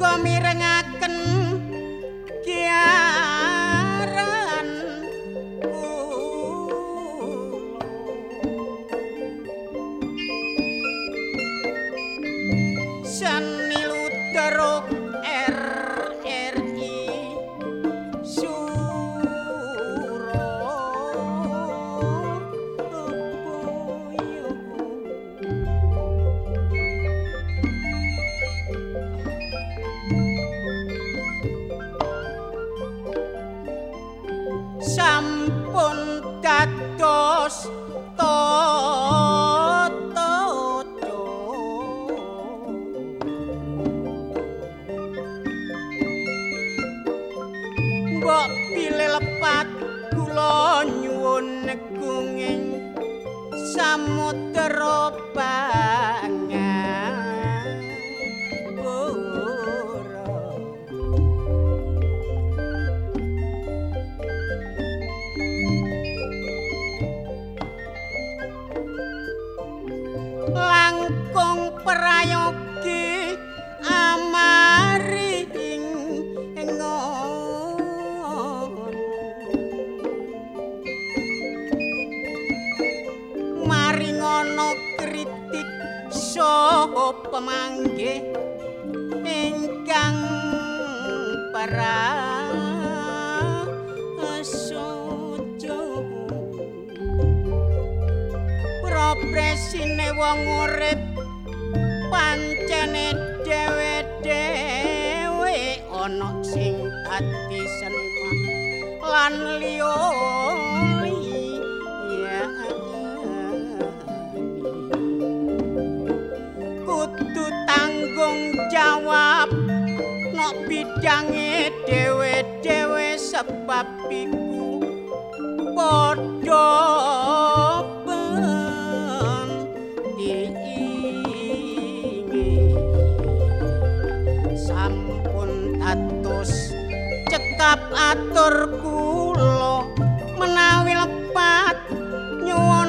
uga mirengaken kiaran Sani Lutero RRI sampun dados mbok pilih lepat kula nyuwun negunging samudra Pangapura langkung prayogi amaring maringono kritik saha pamanggih ingkang prasaja propresine wong urip pancene dhewe-dhewe ana sing dadi seniman lan liya kudu tanggung jawab nok bidange dhewe-dhewe sebab iku padha sampun dados cekap atur kula menawi lepat nyuwun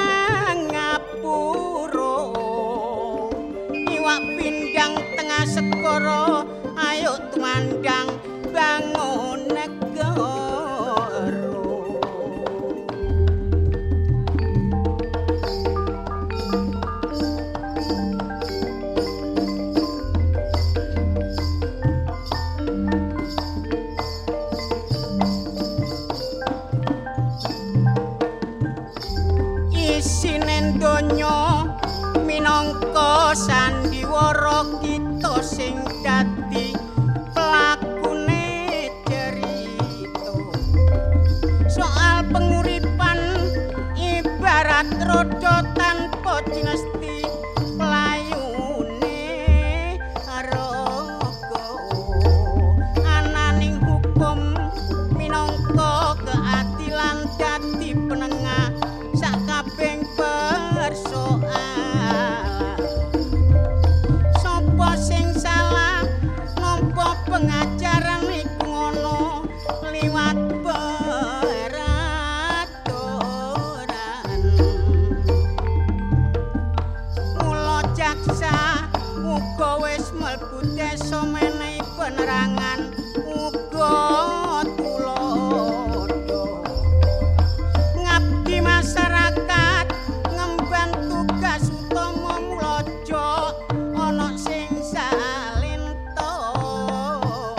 pangapura iwak pindang tengah segara ayo tumandang bangun negara isine donya minangka sandiwara kita sing dadi pelakune cerita soal penguripan ibarat roda tanpa dinasti pelayune raga ananing hukum minangka keadilan dadi penengah sakabeng persoalan sapa sing salah nampa pengajaran iku ngono liwat peraturan mula jaksa uga wis mlebu desa menehi penerangan uga tulodo ngabdi masyarakat ngemban tugas utama mulaja ana sing salin tampa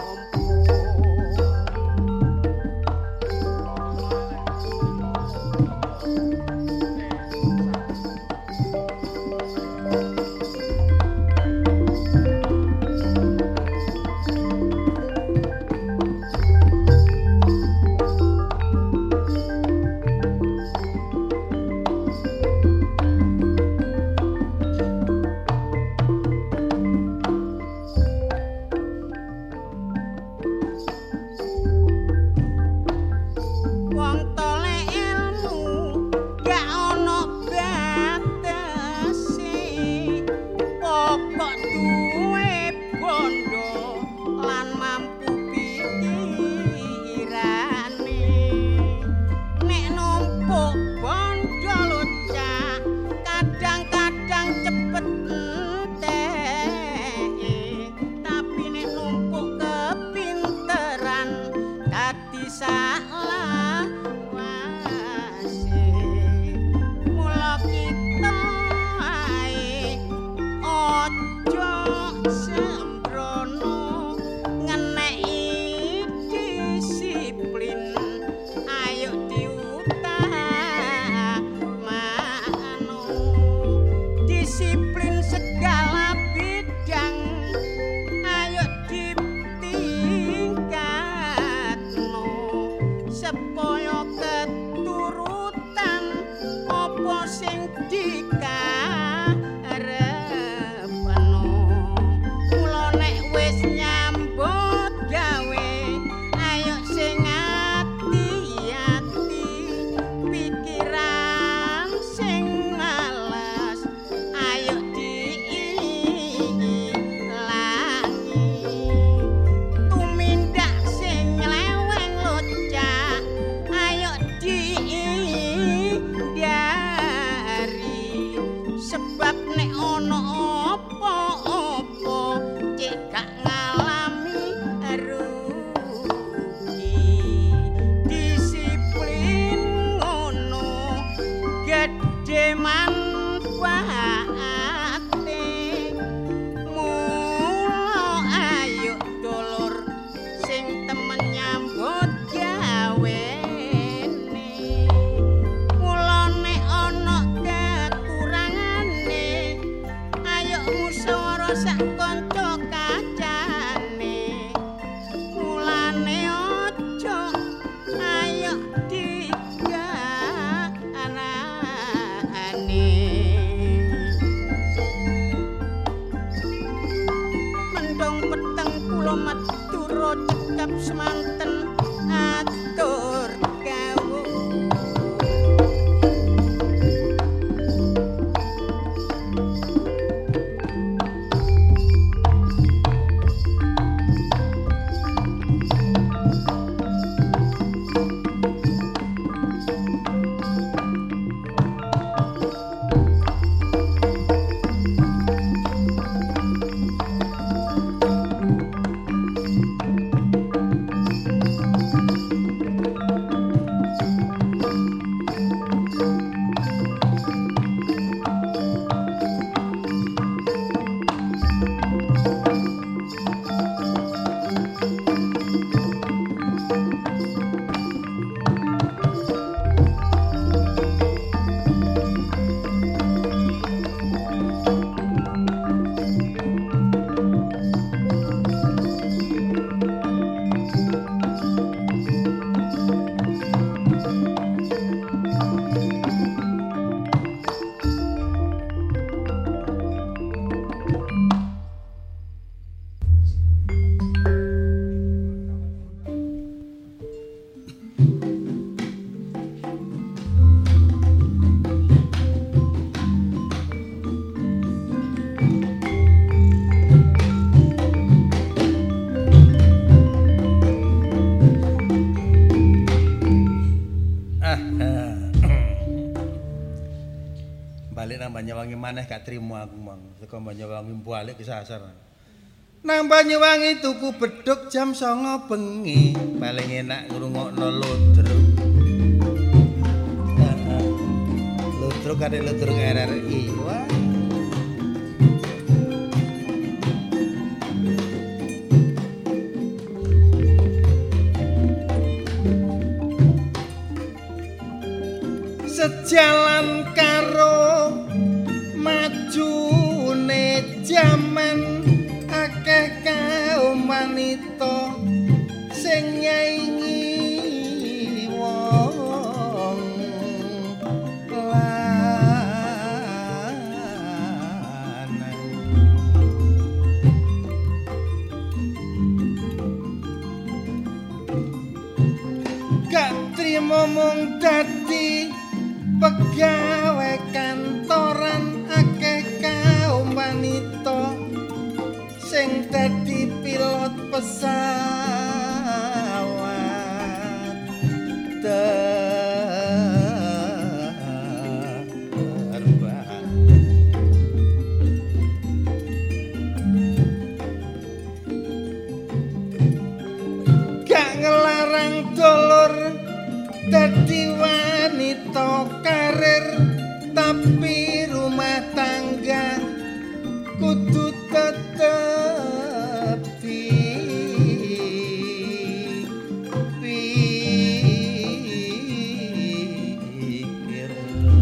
kula Madura cekap semanten atur kawuh. Banyuwangi maneh gak trimo aku mang. Saka Banyuwangi balik kesasar. Nang Banyuwangi tuku bedhug jam 09.00 bengi. Paling enak ngrungokno ludruk. Ludruk kare ludruk RRI. Wah. Sejalan karo majune jaman akeh kaum wanita sing nyaingi wong lanang. Gak trimo mung dadi pegawai kantoran akeh kaum wanita sing dadi pilot pesawat terbang. Gak ngelarang dulur dadi wanita karir, tapi rumah tangga kudu tetep dipikir.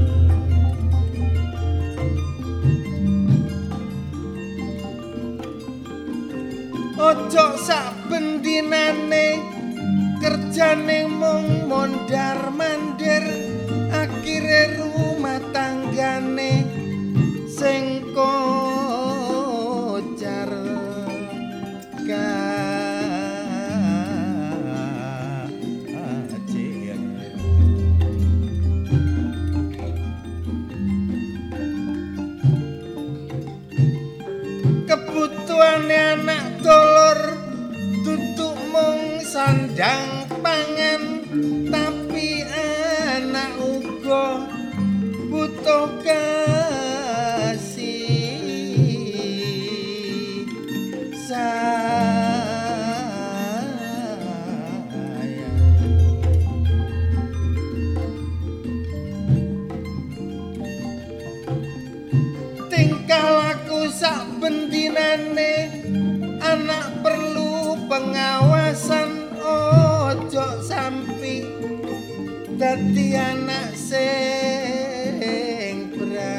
Ojo sak bendinane kerjane mung mondar-mandir, akhire rumah tanggane sing kocar kacir. Kebutuhane anak dulur duduk mung sandang pangan, tapi anak uga butuh kasih sayang. Tingkah laku sak bendinane anak perlu pengawasan, ojo sampai dadi anak sing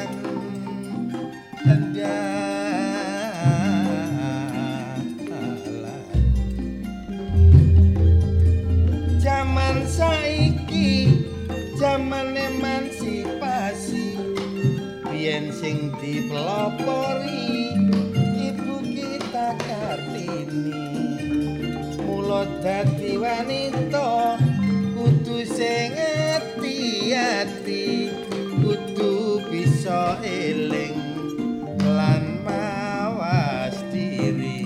berandalan. Zaman saiki zaman emansipasi, biyen sing dipelopori Ibu kita Kartini. dadi wanita kudu sing ati-ati kudu bisa eling lan mawas diri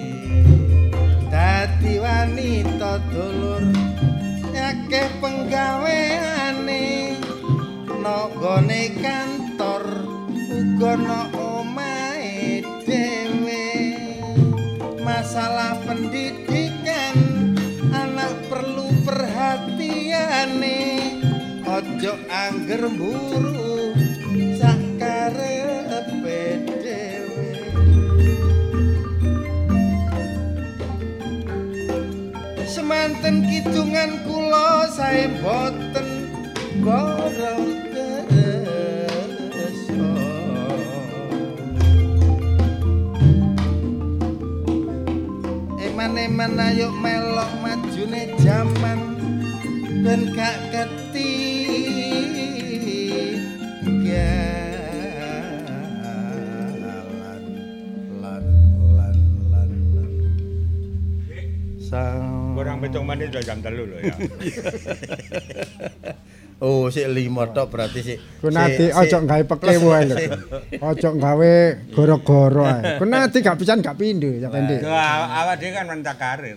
dadi wanita dulur akeh penggaweane nggone kantor uga ana omahe dhewe masalah pendidikan anak perlu perhatiane ojo angger mburu sakarepe dhewe semanten kidungan kula sae boten gorong kersa eman ayo melok majune jaman ben gak ketinggalan lan sang kurang 7 menit udah jam 3 lho ya. Oh, sik 5 tok berarti sik. Ku nanti ojo gawe pekewo ae lho. Ojo gawe goro-goro ae. Ku nanti gak pisan gak pindho ya Pendi. Awak dhewe kan mentak karir.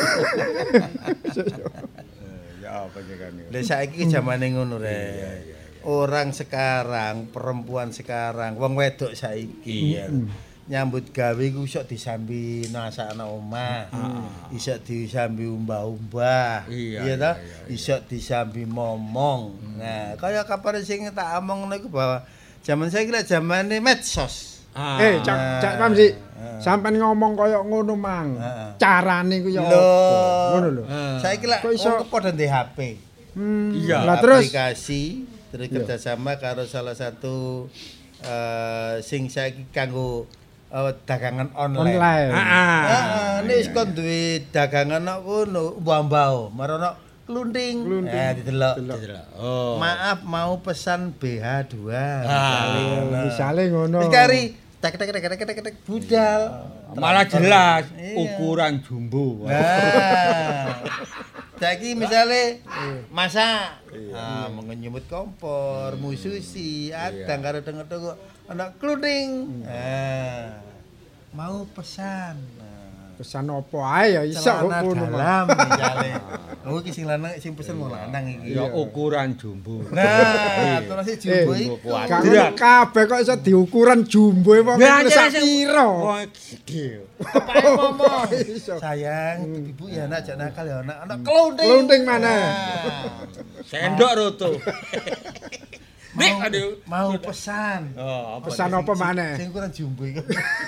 Ya apa sih kan. Lah saiki zamane ngono rek. Orang sekarang, perempuan sekarang, wong wedok saiki ya. Nyambut gawe ku iso disambi nasakna omah. Iso disambi umbah-umbah. Iya ta? Iso disambi momong. Nah, kaya kapan sing tak omong niku bahwa zaman saiki lek zamane medsos. Cak Mamsi. Sampeyan ngomong kaya ngono mang. Carane ku ya apa? Ngono lho. Saiki lek wong padha ndek HP. Iya. Lah terus aplikasi terus kerjasama karo salah satu sing saiki kanggo dagangan online. Heeh, nek kon duwe dagangan kok ngono, mbah-mbah, marono klunting. Didelok. Oh. Maaf mau pesan BH2. Misale ngono. Wis kari tek budal. Malah jelas ukuran jumbo. Nah. Saiki misale masak, nyemut kompor, mususi, adang karo tengok-tengok ana klunting. Mau pesan. Pesan apa ae ya iso ngono. Dalam misale. Oh iki sing lanang sing pesen wong lanang iki. Ya ukuran jumbo. Nah, terus jumbo iki gak kabeh kok iso diukuran jumbo wong sak pira. Oh gede. Kepake momo. Sayang, ibu ya anak jak nakal ya anak klunting. Klunting mana? Sendok roto. Mau pesan. Pesan apa maneh? Sing ukuran jumbo iki.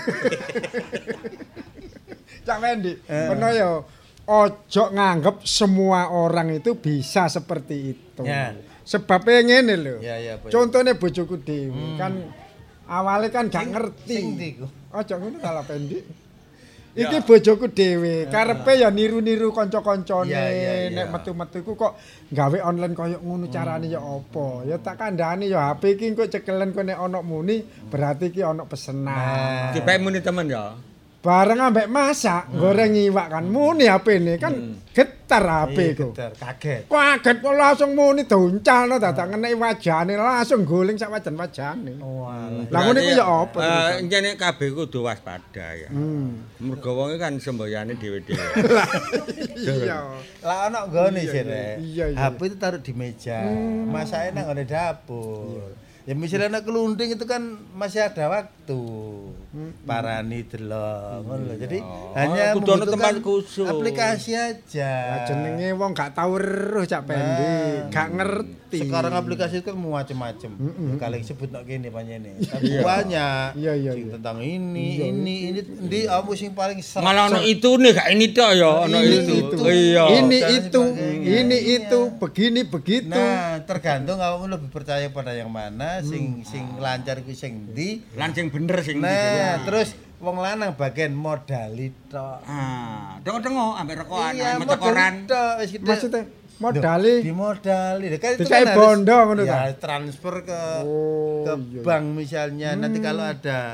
Cak Wendi, peno ya ojo nganggep semua orang itu bisa seperti itu. Ya. Sebabnya ngene lho. Ya, Contohnya bojoku dhewe kan awalnya kan gak ngerti. Sing ndi ku? Ojo ngono salah Pendi. Iki bojoku dhewe, karepe ya niru-niru kanca-kancane nek metu-metu ku kok gawe online koyo ngono carane ya apa. Ya tak kandhani ya HP iki kok cekelen kok nek ana muni berarti iki ana pesenan. Dipek muni temen ya. Bareng ambek masak, goreng iwak kan muni HP-ne kan getar HP ku. Getar, kaget. Kaget kok langsung muni doncalno dadak ngeneki wajane langsung guling sak wajan-wajane. Lah ngono iku ya apa? Encene kabeh kudu waspada ya. Mergo wong kan semboyane dhewe-dhewe. Iya. Lah ana nggone sih rek. Iya. HP itu taruh di meja. Masake nang ngene dapur. Ya misalnya anak kelunting itu kan masih ada waktu. Parani delok ngono lho. Jadi hanya kudu ana tempat membutuhkan khusus. Aplikasi aja. Lah jenenge wong gak tau weruh Cak Pendi, gak ngerti. Sekarang aplikasi itu kan macam-macam. Kali sebut nak kene panjene. Tapi banyak. Iya. Sing tentang ini ndi aku sing paling serem. Malah ono itune gak ini tok ya, ono itu. Iya. Ini itu, begini begitu. Nah, tergantung kamu lebih percaya pada yang mana, sing lancar ku sing ndi, Lan sing bener sing nah, terus wong lanang bagian modali tok. Tengok-tengok ambek rokokan, Iya, ambek koran. Wis gitu. Maksudnya modali Dimodali. Kan itu dikai kan bondo ngono ta. ya transfer ke Oh, bank misalnya. Nanti kalau ada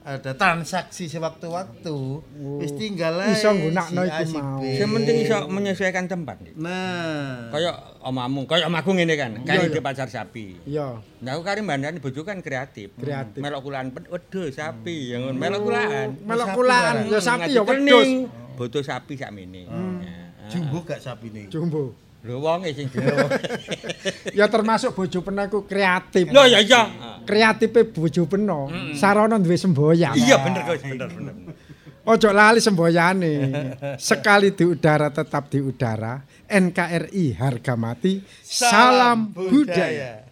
ada transaksi sewaktu-waktu wis tinggal ae Iso nggunakno iku mau. Sing penting iso menyesuaikan tempat. Nah, Kayak omamu, kayak omaku ngene kan, kan ide pasar sapi. Iya. Nah aku kari mbandani bojo kan kreatif. Kreatif. Melok kulaan wedhus sapi, yang ngono melok kulaan. Melok Sapi kulaan barang. ya sapi ya wedhus. Kening, boto sapi sakmene. jumbo gak sapine. Jumbo. Lho wonge sing Ya termasuk bojo penaku kreatif. Lho ya iya. Kreatife bojo peno. Sarana duwe semboyang. Iya bener kok, bener. Ojo lali semboyane. Sekali di udara tetap di udara. NKRI harga mati. Salam budaya.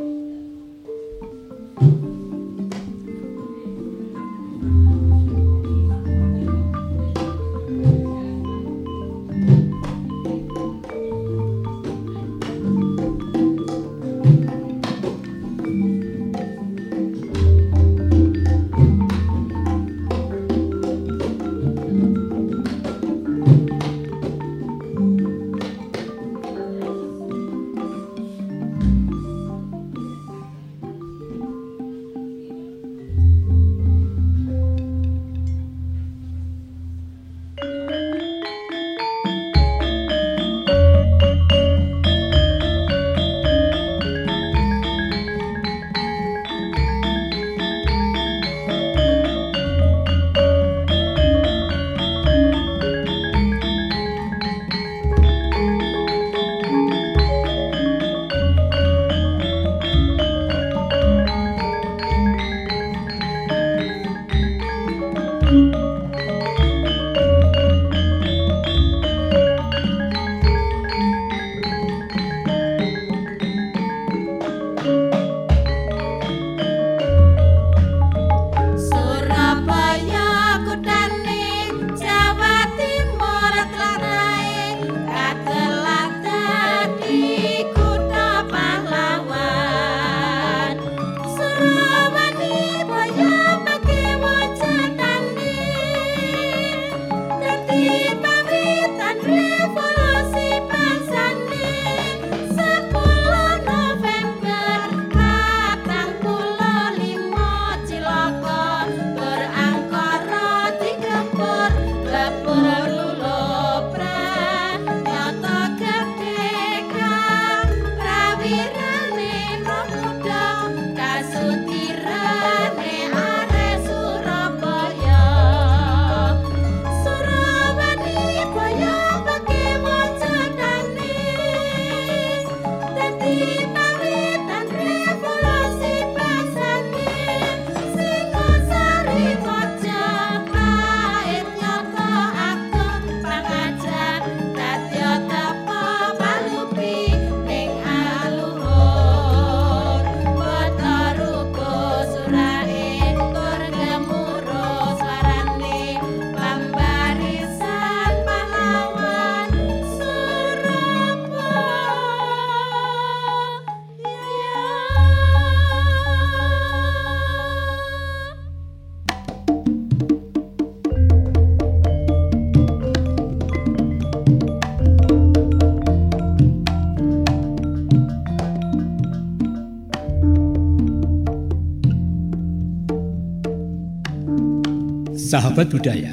Sahabat budaya,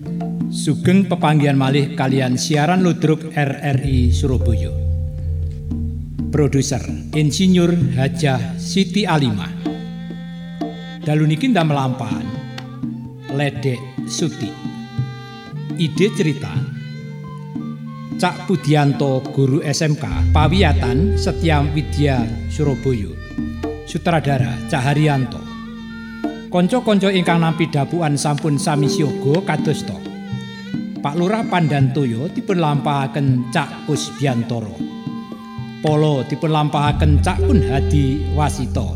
sugeng pepanggihan malih kalian siaran ludruk RRI Surabaya. Produser Insinyur Hajah Siti Alimah. Dalu niki ndak melampahan Ledek Suti. Ide cerita Cak Pudianto, guru SMK Pawiyatan Setyam Widya Surabaya. Sutradara Cak Haryanto. Konco-konco ingkang nampi dapuan sampun sami siaga kadosta. Pak Lurah Pandantoyo dipun lampahaken Cak Kusbiantoro. Polo dipun lampahaken Cak Kun Hadi Wasito.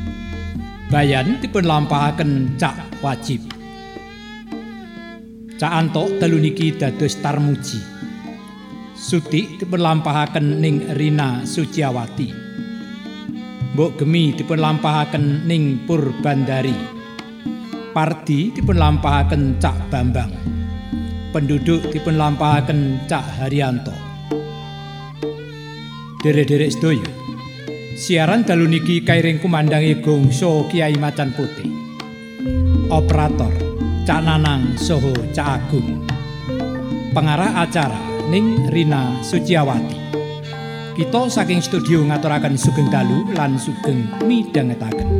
Bayan dipun lampahaken Cak Wajib. Cak Anto telu niki dados Tarmuji. Suti dipun lampahaken ning Rina Suciawati. Mbok Gemi dipun lampahaken ning Purbandari. Pardi dipun lampahaken Cak Bambang. Penduduk dipun lampahaken Cak Haryanto. Derek-derek sedaya. Siaran dalu niki kairing kumandangi gongso Kiai Macan Putih. operator Cak Nanang saha Cak Agung. Pengarah acara ning Rina Suciawati. Kita saking studio ngaturaken sugeng dalu lan sugeng midhangetaken.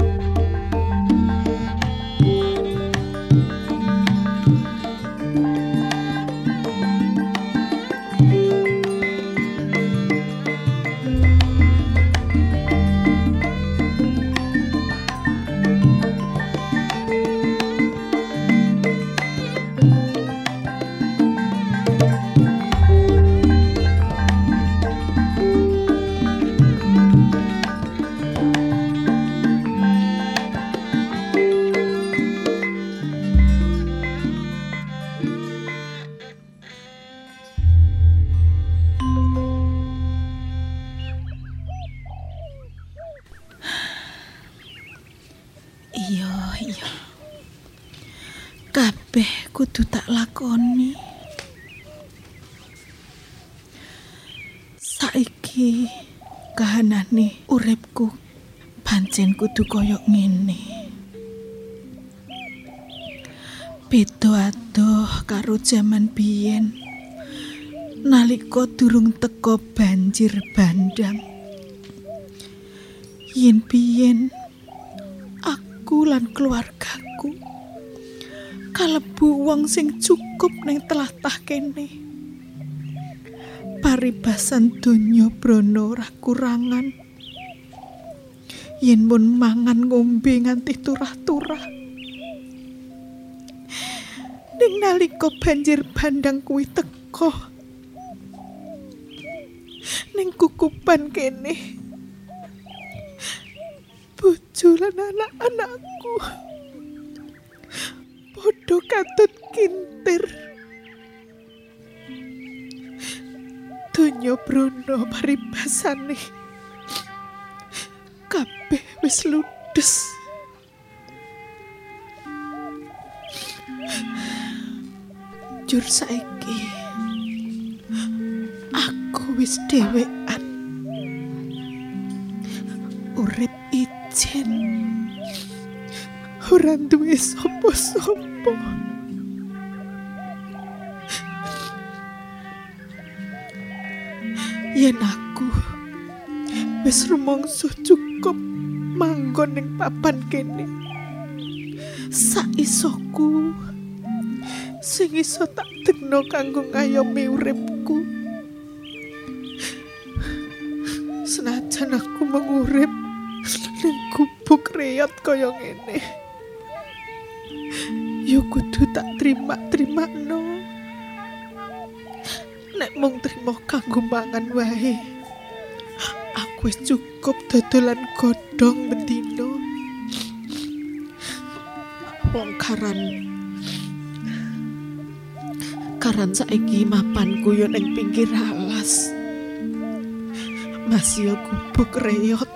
Iya. Kabeh kudu tak lakoni. Saiki kahanane uripku pancen kudu koyo ngene. Beda adoh karo jaman biyen. Nalika durung teka banjir bandang. Yen biyen aku lan keluargaku kalebu wong sing cukup ning tlatah kene. Paribasan donya brana ora kurangan. Yen mun mangan ngombe nganti turah-turah. Ning nalika banjir bandang kuwi teka ning kukupan kene, bojo lan anak-anakku padha katut kintir. Donya brana paribasane kabeh wis ludes. Jur saiki aku wis dhewean, urip ijen, ora duwe sapa-sapa. Yen aku wis rumangsa cukup manggon ning papan kene, saisoku sing iso tak degno kanggo ngayomi uripku. Senajan aku mengurip ning gubuk reyot kaya ngene, yo kudu tak terima-termakno. Nek mung trimo kanggo mangan wae, aku wis cukup dodolan godhong bendina. Wong karan saiki mapanku yo ning pinggir alas. Masih gubuk reyot.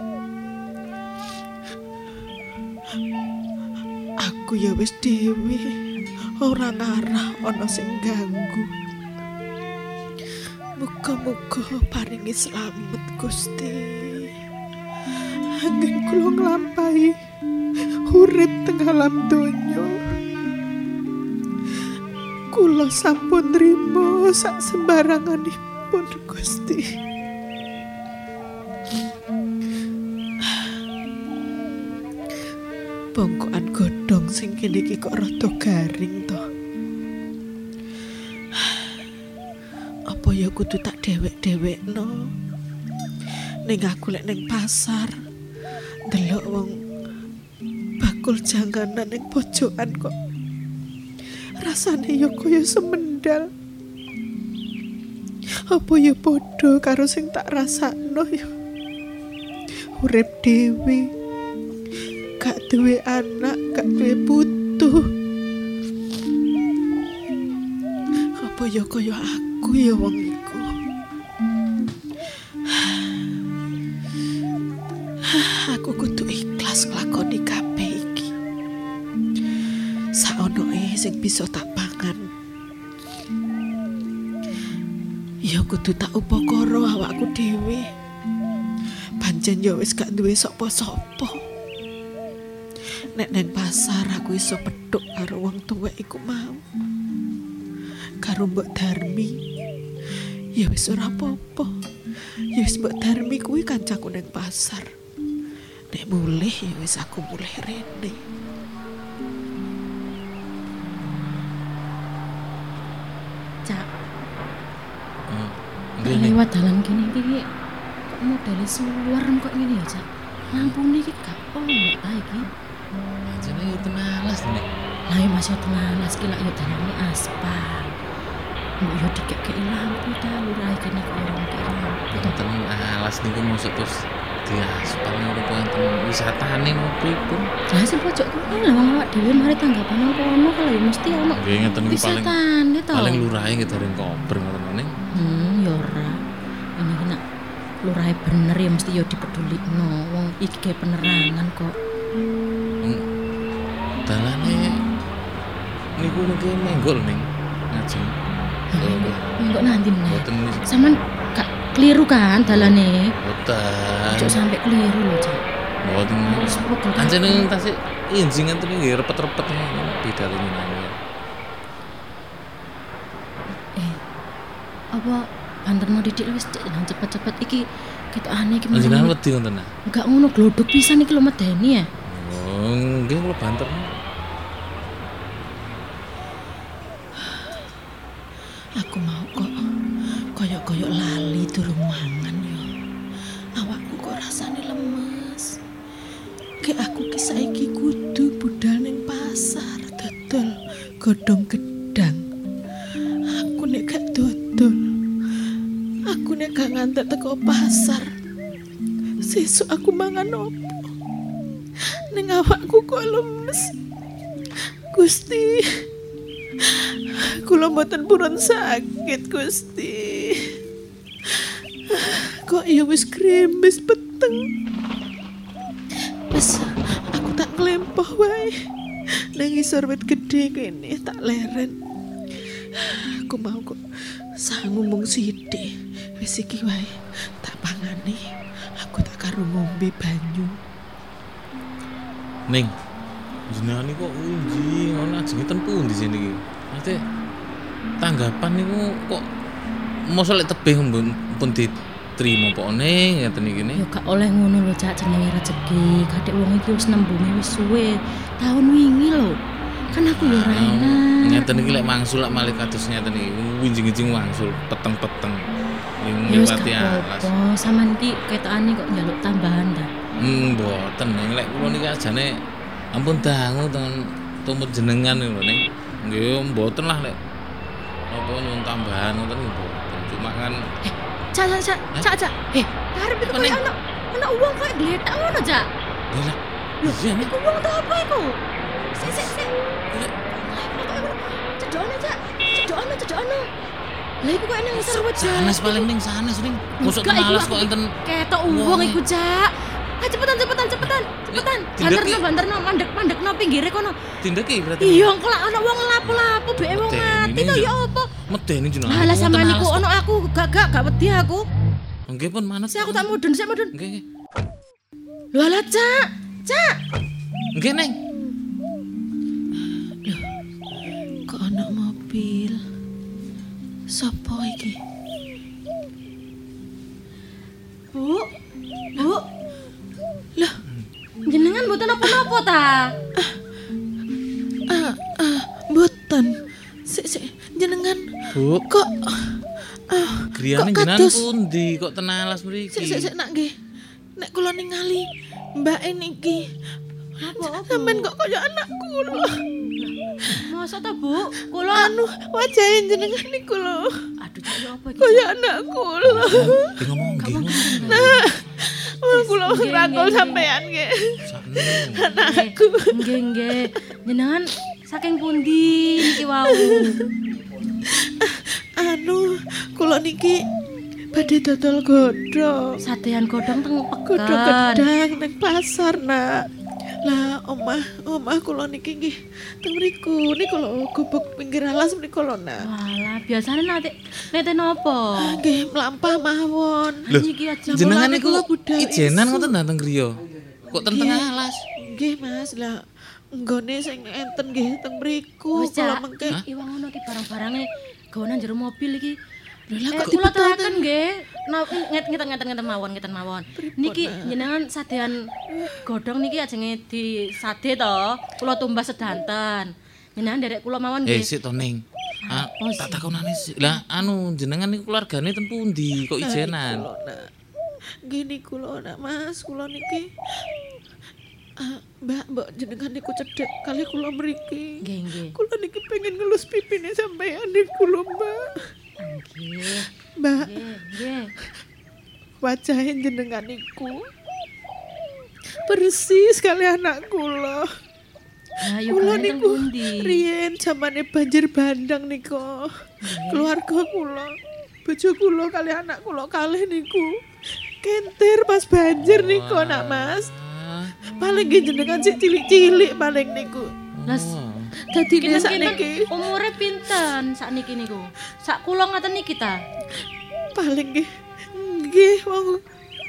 Aku ya wis dhewe, ora ngarah ana sing ganggu. Muga-muga paringi slamet Gusti. Anggen kula nglampahi urip teng alam donya. Kula sampun nrimo sak sembaranganipun Gusti. Bongkokan godhong sing kene iki kok rada garing to. Apa ya kudu tak dhewek-dhewekno. Ning aku lek ning pasar ndelok wong bakul janganan ning pojokan kok rasane ya kaya semendal. Apa ya padha karo sing tak rasakno ya. Urip dhewe, gak duwe anak, gak duwe putu. Apa ya kaya aku ya wong iku. Aku kudu ikhlas nglakoni kabeh iki. Saonoe sing bisa tak pangan. Ya kudu tak upakara awakku dhewe. Pancen ya wis gak duwe sapa-sapa. nek neng pasar aku iso pedhok karo wong tuwek iku mau. Karo Mbok Darmi. Ya wis ora apa-apa. Ya wis Mbok Darmi kuwi kancaku neng pasar. Nek mulih ya wis aku mulih rene. Cak. Lewat dalan kene iki kok modele suwerem kok ngene ya, Cak. Lampune iki gak ono ta iki. Jane yo tenalas nek. Lah ya masih tenalas ki lak yo dalane aspal. Mbok yo dikek-keki lampu ta lurahe kene kok ora kira. Tenalas niku mosok terus diaspal ngono kok enten wisatane pripun. Lah sing pojok kuwi lha wong awak dhewe mari tanggapan apa ono kalau ya mesti ono. Nggih ngeten iki wisatane to. Paling lurahe nggih dereng kober ngoten ning. Ya ora. Ini ki nak lurahe bener ya mesti ya dipedulikno. Wong iki gawe penerangan kok. Dalane niku niki menggol ning ngajeng. Enggak nanti nih. Boten Saman gak keliru kan dalane? boten. Ojo sampai keliru loh, Cak. Boten. Sepuluh Anjene tasik injing ngenten nggih repet-repet bidalane nang. Apa banterno didik wis nang cepet-cepet iki ketokane iki. Panjenengan wedi ngoten ta? Enggak ngono glodok pisan iki lho medeni ya. Oh, nggih kula banter. Aku mau kok koyok-koyok lali durung mangan yo. Awakku kok rasane lemes. Ki aku ki saiki kudu budal ning pasar dodol godhong gedang. Aku nek gak dodol. Aku nek gak ngantek teko pasar. Sesuk aku mangan opo? Ning awakku kok lemes. Gusti. Kula mboten purun sakit, Gusti. Kok ya wis krimis peteng. Wis aku tak nglempoh wae. Nang isor wit gedhe kene tak leren. Aku mau kok sangu mung sithik. Wis iki wae tak pangani. Aku tak karo ngombe banyu. Ning jenengan niku kok unji ngono ajenge ten pundi sini iki? Mate tanggapan niku kok mosok lek tebih pun diterima apa ning ngeten iki ne? Ya gak oleh ngono lho, Cak, jenenge rezeki. Kadek wong iki wis nembunge wis suwe. Tahun wingi lho. Kan aku ya ora enak. Ngeten iki lek mangsul lek malih kados ngeten iki winjing-winjing mangsul peteng-peteng. Wis Ngliwati alas. apa sampean iki ketokane kok njaluk tambahan ta? Mboten ning lek kula niki ajane ampun dangu ten tumut jenengan lho ning. Nggih mboten lah lek apa nyuwun tambahan ngoten nggih mboten. Cuma kan Cak. Arep itu koyo ana wong koyo gletak ngono, Cak. lah. Lho, Iya nih. iku wong ta apa iku? Sik. Cedokno. Lah iku koyo nang isor wit. Sanes paling ning sanes ning. Mosok tenalas kok enten ketok wong iku, Cak. Cepetan. Banterno, mandek-mandekno pinggire kono. tindeki berarti. Iya, engko lak ana wong lapo-lapo beke wong mati to ya apa? Medeni jenengan. Lah sampean niku ono aku gak wedi aku. Nggih pun manut. Sik aku tak mudhun. Nggih. Lho alah, Cak. Nggih, Neng. Loh, kok ana mobil? Sopo iki? Bu. Loh, Jenengan mboten napa-napa ta? mboten. Sik, jenengan Bu, kok griyane kok jenengan kados? pundi kok tenalas mriki? Sik nak nggih. Nek kula ningali Mbak niki. Apa? Sampeyan kok kaya anakku lho. Masa ta, Bu? Kula Wajahe jenengan niku lho. aduh Cak ya apa iki? Kaya anakku lho. Ngomong nggih. Kula rangkul sampean nggih. Anakku. Nggih. Jenengan saking pundi niki wau? Kula niki badhe dodol godhong. Sadean godhong teng Godhong peken. gedang nang pasar, Nak. Lah omah kula niki nggih teng mriku. Niku lho gubuk pinggir alas niku lho, Nak. Walah, biasane nate napa? Nggih mlampah mawon. Lho, Iki aja. jenengan Mulane niku kula budal ijenan isin. ngoten ta teng griya? Kok ten tengah alas? Nggih, Mas. Lah Nggone sing enten nggih teng mriku Wis, kula Cak. mengke. Iwang ngono ki barang-barange gawanan jero mobil iki. Lah kok Kula dipetaken teraken nggih. Ngeten mawon. Niki jenengan sadean godhong niki ajenge disade to. Kula tumbas sedanten. Jenengan derek kula mawon nggih. Sik to Ning. Tak takonane sik. Lah anu jenengan niku keluargane ten pundi kok ijenan? Gini kula nak Mas, kula niki Mbak jenengan niku cedhek kali kula mriki. Nggih. Kula niki pengen ngelus pipine sampeyan niku lho, Mbak. Nggih. Mbak, Nggih. wajahe jenengan niku persis kali anak kula. Lah yo Kula gawe teng niku pundi? riyen zamane banjir bandang niku. Keluarga kula, bojo kula kali anak kula kalih niku kentir pas banjir niku nak Mas. Paling nggih jenengan sik cilik-cilik paling niku. Las Dadi kinten sakniki umure pinten sakniki niku? Sak kula ngaten niki ta? paling nggih wong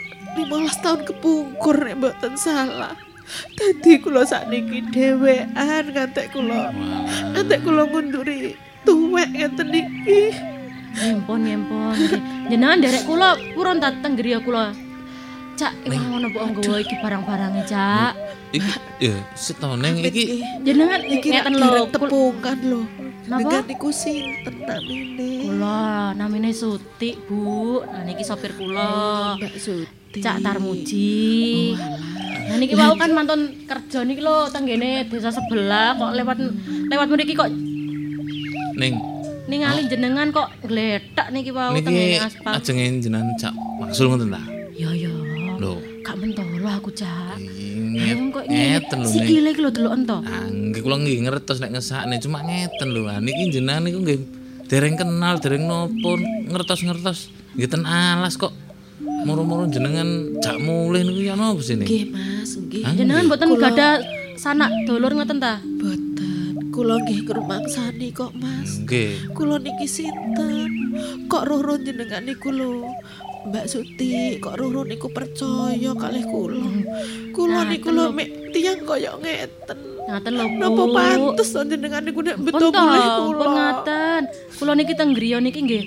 15 tahun kepungkur nek mboten salah. Dadi kula sakniki dhewean ngantek kula ngunduri tuwek ngeten niki. Nyempon. Jenengan derek kula purun ta teng griya kula. Cak, iwang ngono mbok nggawa iki barang-barange, Cak. Iki ya setone iki Jenengan Iki ngeten lho lho. tepungan lho. Napa? Dengan niku sinten namine? Kula namine Suti, Bu. Nah niki sopir kula. Mbak Suti. Cak Tarmuji. Nah niki wau kan mantun kerja niki lho teng ngene desa sebelah kok lewat mriki kok Ning ningali jenengan kok glethek niki wau teng niki ngene aspal. ajenge jenengan Cak Maksul ngoten ta? Yo. Lho. Gak mentolo aku, Cak. Kok Ngeten lho Ning. sikile iki lho deloken to. Nggih kula nggih ngertos nek ngesakne cuma ngeten lho. Niki jenengan niku nggih dereng kenal, dereng nopo ngertos-ngertos. Nggih ten alas kok. Moro-moro jenengan jak mulih niku ya napa sini? Nggih Mas, nggih. Jenengan mboten gadah sanak dulur ngoten ta? Boten. Kula nggih ngrumangsani kok Mas. Nggih. Kula niki sinten? Kok roro jenengan niku lho. Mbak Suti, kok roro niku percaya kalih kula. Kula niku lho mek tiyang kaya ngeten. Ngaten lho, Bu. Napa pantes to jenengan niku nek beto Pun mulih to, kula. pun ngaten. Kula niki teng griya niki nggih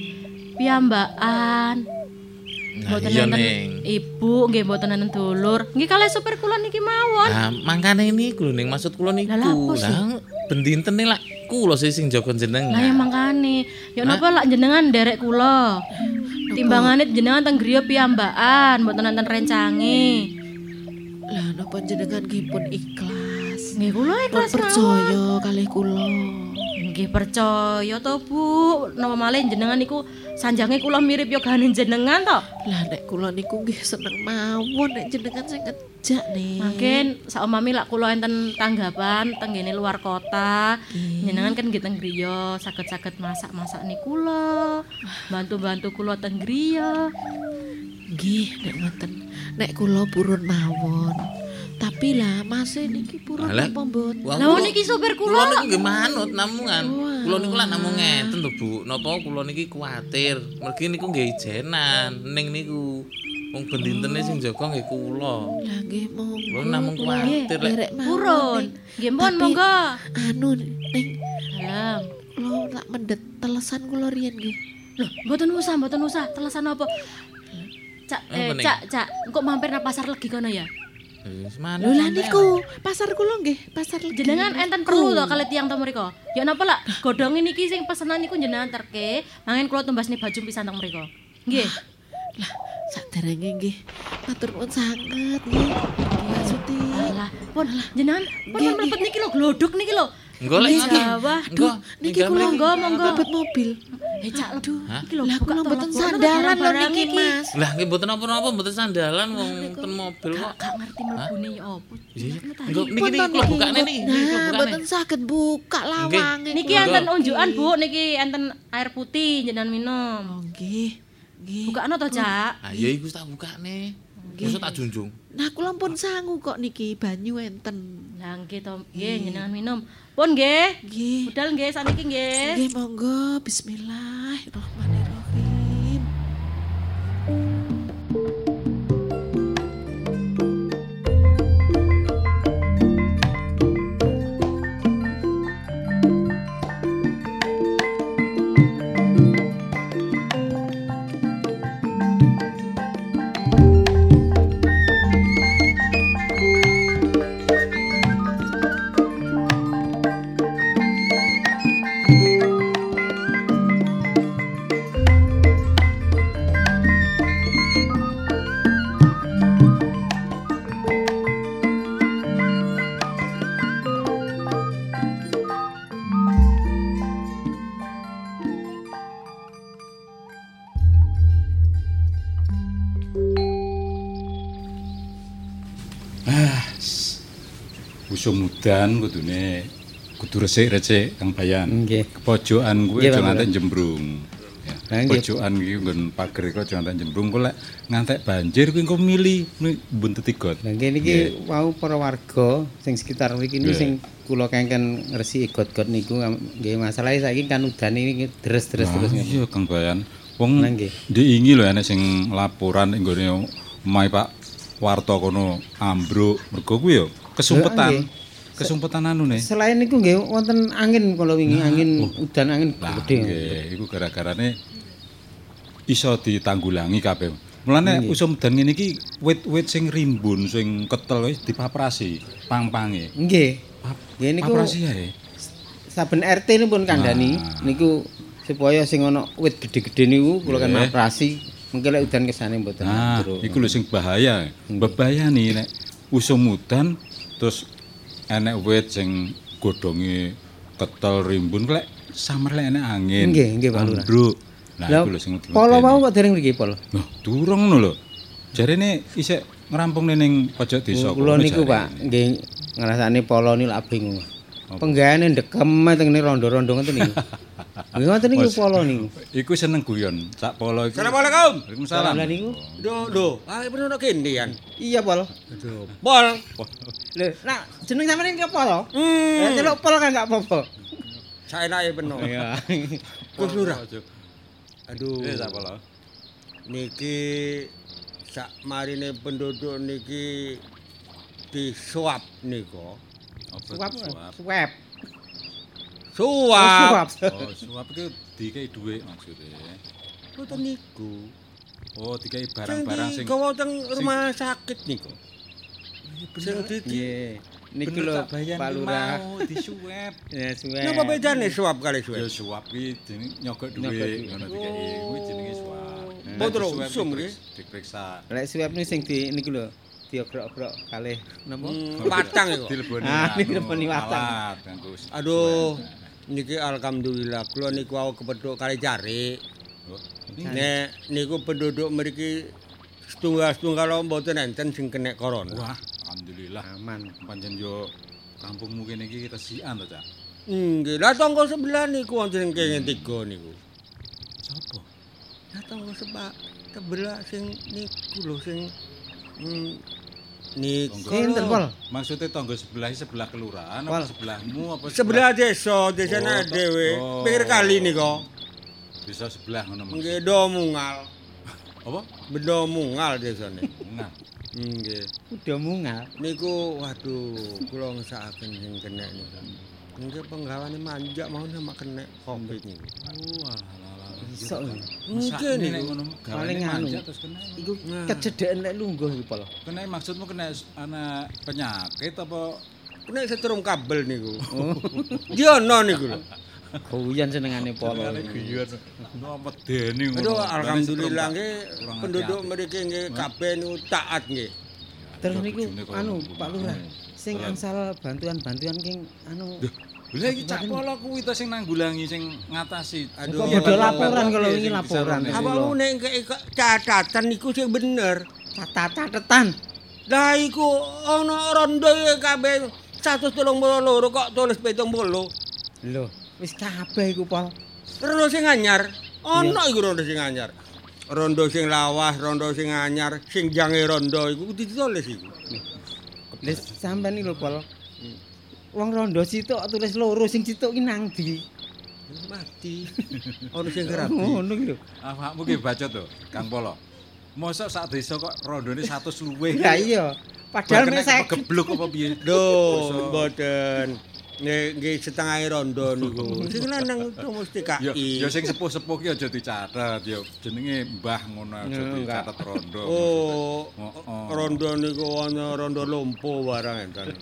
piyambakan. Nah, iya Ning. Ibu nggih mboten enten dulur. Nggih kalih supir kula niki mawon. Nah, mangkane niku lho Ning maksud kula niku. Lah, apa sih? Lah bendintene lak kula sing jaga jenengan. Lah ya mangkane. Ya napa lak jenengan nderek kula. Timbangane jenengan teng griya piyambakan, mboten enten rencange. Lah napa jenengan nggih pun ikhlas. Nggih kula Pun ikhlas percaya kalih kula. Nggih percaya to, Bu. Napa malih jenengan niku sanjange kula mirip yo gane jenengan to. Lah nek kula niku nggih seneng mawon nek jenengan sing ngejak nih. Mungkin saumami lak kula enten tanggapan teng ngene luar kota. Jenengan kan nggih teng griya, saged-saged masak-masak niku kula. Bantu-bantu kula teng griya. Nggih nek ngoten. Nek kula purun mawon. Tapi lah Mas niki purun Lah, apa mboten? Wah, Lah niki supir kula kula. niku nggih manut namungan. Kula niku lak namung ngeten lho Bu. Napa kula niki kuwatir. Mergi niku nggih ijenan ning niku. Wong bendintene sing jaga nggih kula. Lah nggih monggo. Kula namung kuwatir lek Derek mawon, Purun. Ning. Nggih mohon Tapi, monggo. Anu ning Dalam. kula tak mendet telesan kula riyen nggih. Loh, mboten usah. Telesan apa? Cak, Apa nih? Cak, engko mampir nang pasar legi kono ya. wis manut. Lho lah sampean. niku pasar kula nggih, pasar legi. Jenengan enten perlu to kali tiyang to mriko. Ya napa lak godhonge niki sing pesenan niku jenengan terke, mangin kula tumbasne baju pisan teng mriko. Nggih. Lah saderenge nggih. Matur nuwun sanget nggih. Mbak Suti. Alah, pun jenengan pun Nggih, mlebet niki lho glodok niki lho. Engko lek Nggih, Jawa. Duh, Niki kula monggo. mlebet mobil. Cak lebu. Hah? Iki lho Lah buka kula to, mboten lebu. sandalan lho Barang-barang niki iki. Mas. Lah nggih mboten napa-napa mboten sandalan wong ten mobil kok. Gak ngerti mlebune ya opo. Iya. Jenengan Engko tadi. niki kula bukane nih, kula Nah, bukane. mboten saged buka lawange. Niki kula. enten unjukan, Bu. Niki enten air putih jenengan minum. Oh nggih. Nggih. Bukakno to, Cak. Ah ya iku tak bukane. Mosok tak junjung. Nah kula pun sangu kok niki banyu enten. Lah nggih to, nggih jenengan minum. Pun nggih. Nggih. Budal nggih saniki nggih. Nggih monggo bismillahirrahmanirrahim. usum udan kudu resik-resik Kang Bayan. Nggih. Kepojokan kuwi Nggih, aja Pak ngantek jembrung. Ya. Nggih. Pojokan iki nggon pager iku aja ngantek jembrung kok lek ngantek banjir kuwi engko mili buntuti got. Lah nggih niki wau para warga sing sekitar mriki niku sing kula kengken ngresiki got-got niku nggih masalahe saiki kan udan iki deres-deres terus ngene. Iya Kang Bayan. Wong diingi lho enek sing laporan ning gone omahe Pak Warta kono ambruk mergo kuwi ya kesumpetan. Kesumpetan anune. Selain niku nggih wonten angin kala wingi angin udan angin gedhe. Nggih, iku gara-garane iso ditanggulangi kabeh. Mulane usum udan ngene iki wit-wit sing rimbun sing ketel wis dipaprasi pang-pange. Nggih. Nggih niku paprasi ae. Saben RT nipun kandhani niku supaya sing ana wit gedhe-gedhe niku kula kan maprasi mengke lek udan kesane mboten terus. Iku lho sing bahaya. Bebayani nek usum udan terus enek wit sing godhonge ketel rimbun lek samar lek enek angin. Nggih, Pak Lurah. Nah, iku lho sing polo mau kok dereng mriki polo. Loh, durung ngono lho. Jarene isih ngerampung ning pojok desa. Kula niku Pak, nggih ngrasani polo niku lak bingung. Penggaweane ndekem teng rondo-rondo ngoten niku. Nggih ngoten niku polo niku. Iku seneng guyon, sak polo iku. Assalamualaikum. Waalaikumsalam. Lah niku. Lho, bener kene kan. Iya, Pol. Aduh, Pol. Lho, nak jeneng sampeyan iki apa to? Celuk Pol kan enggak apa-apa. Saenake penuh. Iya. Gus Lurah. Aduh. Sak polo. Niki sak marine penduduk niki disuap niku. Suap. Suap. Oh, suap itu dikei dhuwit maksudnya. Mboten niku. Oh, dikei barang-barang sing gawa teng rumah sakit niku. Sing Nggih. Niki lho Pak Lurah disuap. Ya suap. Napa bedane suap kali suap? Ya suap iki jenenge nyogok dhuwit ngono dikei. Kuwi jenenge suap. Potro usum nggih. Diperiksa. Lek suap niku sing di niku lho. Diogrok-grok kalih napa? Watang iku. Dileboni. Dileboni watang. Aduh, niki alhamdulillah kula niku wau kepethuk kali jari. Nek niku penduduk mriki setunggal-setunggal mboten enten sing kena corona. Wah, alhamdulillah aman. Pancen yo kampungmu kene iki resikan to, Cak. Nggih, lah tangga sebelah niku wonten kene 3 niku. Sopo? Lah tangga sebelah sing niku lho sing niku. Sinten, Pol? Maksudnya tangga sebelah kelurahan apa sebelahmu apa sebelah desane dhewe. Pinggir kali niku. Desa sebelah ngono Mas. Nggih, do mungal. Apa? Benda mungal desane. Mungal. Nggih. Udah mungal. Niku waduh, kula ngesakaken sing kena niku. Nggih penggawane manja mau sama kena Covid niku. Oh, alah. Iso. Mungkin nek ngono gawane manja terus kena. Iku kecedeken lek lungguh iki, Pol. Kena maksudmu kena ana penyakit apa kena setrum kabel niku. Dia ono niku lho. Guyon senengane Pol. Guyon. No medeni ngono. Aduh, alhamdulillah nggih penduduk mriki nggih kabeh niku taat nggih. Terus niku anu Pak Lurah sing angsal bantuan-bantuan king anu lha iki cak polo kuwi to sing nanggulangi sing ngatasi. Aduh, ada laporan kalau ini laporan. Apa nek catatan niku sing bener. Catatan. Lah iku ana rondo kabeh 132 kok tulis 70. Lho, wis kabeh iku, Pol. Rondo sing anyar. Ana iku rondo sing anyar. Rondo sing lawas, rondo sing anyar, sing jange rondo iku ditulis iku. Wis sampean iki lho, Pol. Wong rondo situk tulis loro sing situk ki nang ndi? Mati. Ono sing kerapi. Ngono ki lho. Awakmu ki bacot to, Kang Polo. Mosok sak desa kok rondone 100 luwih. Lah iya. Padahal nek saya geblok apa piye? Duh, mboten. Nggih setengah rondo niku. Sing lanang itu mesti KI. Ya sing sepuh-sepuh ki aja dicatet ya jenenge mbah ngono aja dicatet rondo. Oh. Rondo niku ana rondo lompo barang enten.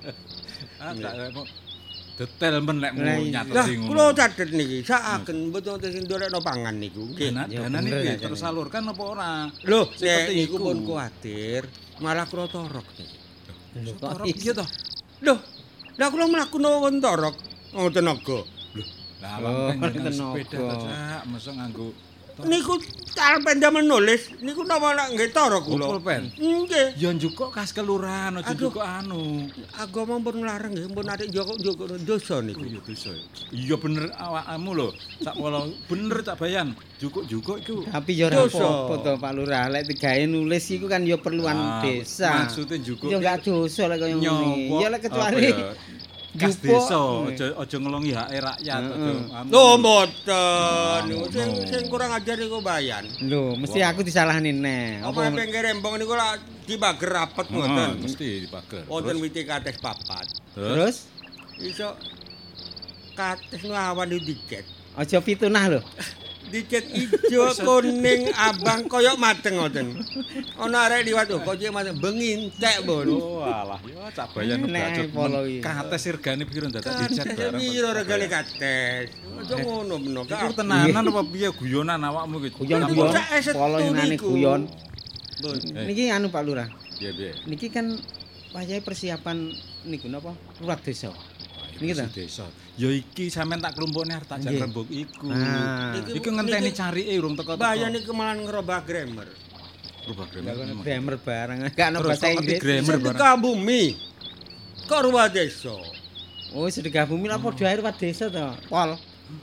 Detail men nek mau nyatet Lah ngono. kula catet niki sakaken mboten sing ndolekno pangan niku. Nggih. Danane iki tersalurkan apa ora? Lho, nek niku pun kuwatir malah kula torok niki. Torok piye to? Lho, lah kula mlakuno wonten torok wong tenaga. Lah awak sepeda to, Cak, mosok nganggo Niku alpen damel nulis, niku napa nak nggih tara kula. Pulpen. Nggih. Ya njukuk kas kelurahan aja njukuk anu. Agama pun nglarang nggih, pun atik njukuk dosa niku. Iya dosa. Iya bener awakmu lho. Sak pola bener Cak Bayan. Jukuk-jukuk iku. Tapi ya ora apa-apa to Pak Lurah, lek digawe nulis iku kan ya perluan desa. Maksudnya njukuk. Ya enggak dosa lek kaya ngene. Ya lek kecuali kas desa aja ngelongi hak rakyat aja. Oh mboten. Sing kurang ajar niku Bayan. Lho, mesti aku disalahne neh. Apa pinggir rembong niku lak dibager rapet ngoten. Mesti dibager. Wonten witi kates papat. Terus Iso kates nu awan diket. aja pitunah lho. Diket ijo, kuning, abang koyok mateng ngoten. Ana arek liwat kok cek mateng bengintek, Bun. Oh alah ya Cak Bayan udah kates regane piro dadak dicat bareng. Piro regane kates. Aja ngono beno. Iku tenanan apa piye guyonan awakmu iki? Guyon polonane guyon. Bun. Niki anu Pak Lurah. Piye? Niki kan wayahe persiapan niku napa? Lurah desa. Niki ta? Desa. Ya iki sampean tak klumpukne arep tak jan rembug iku. Iku Niki- ngenteni carike urung teko-teko. Bayan iki malan ngerobah grammar. Rubah Grammar barang. Gak ono Terus bahasa kok ngerti Inggris. grammar barang. Sedekah bumi. Kok ruwah desa. Oh, sedekah bumi lah padha ae ruwat desa to. Pol.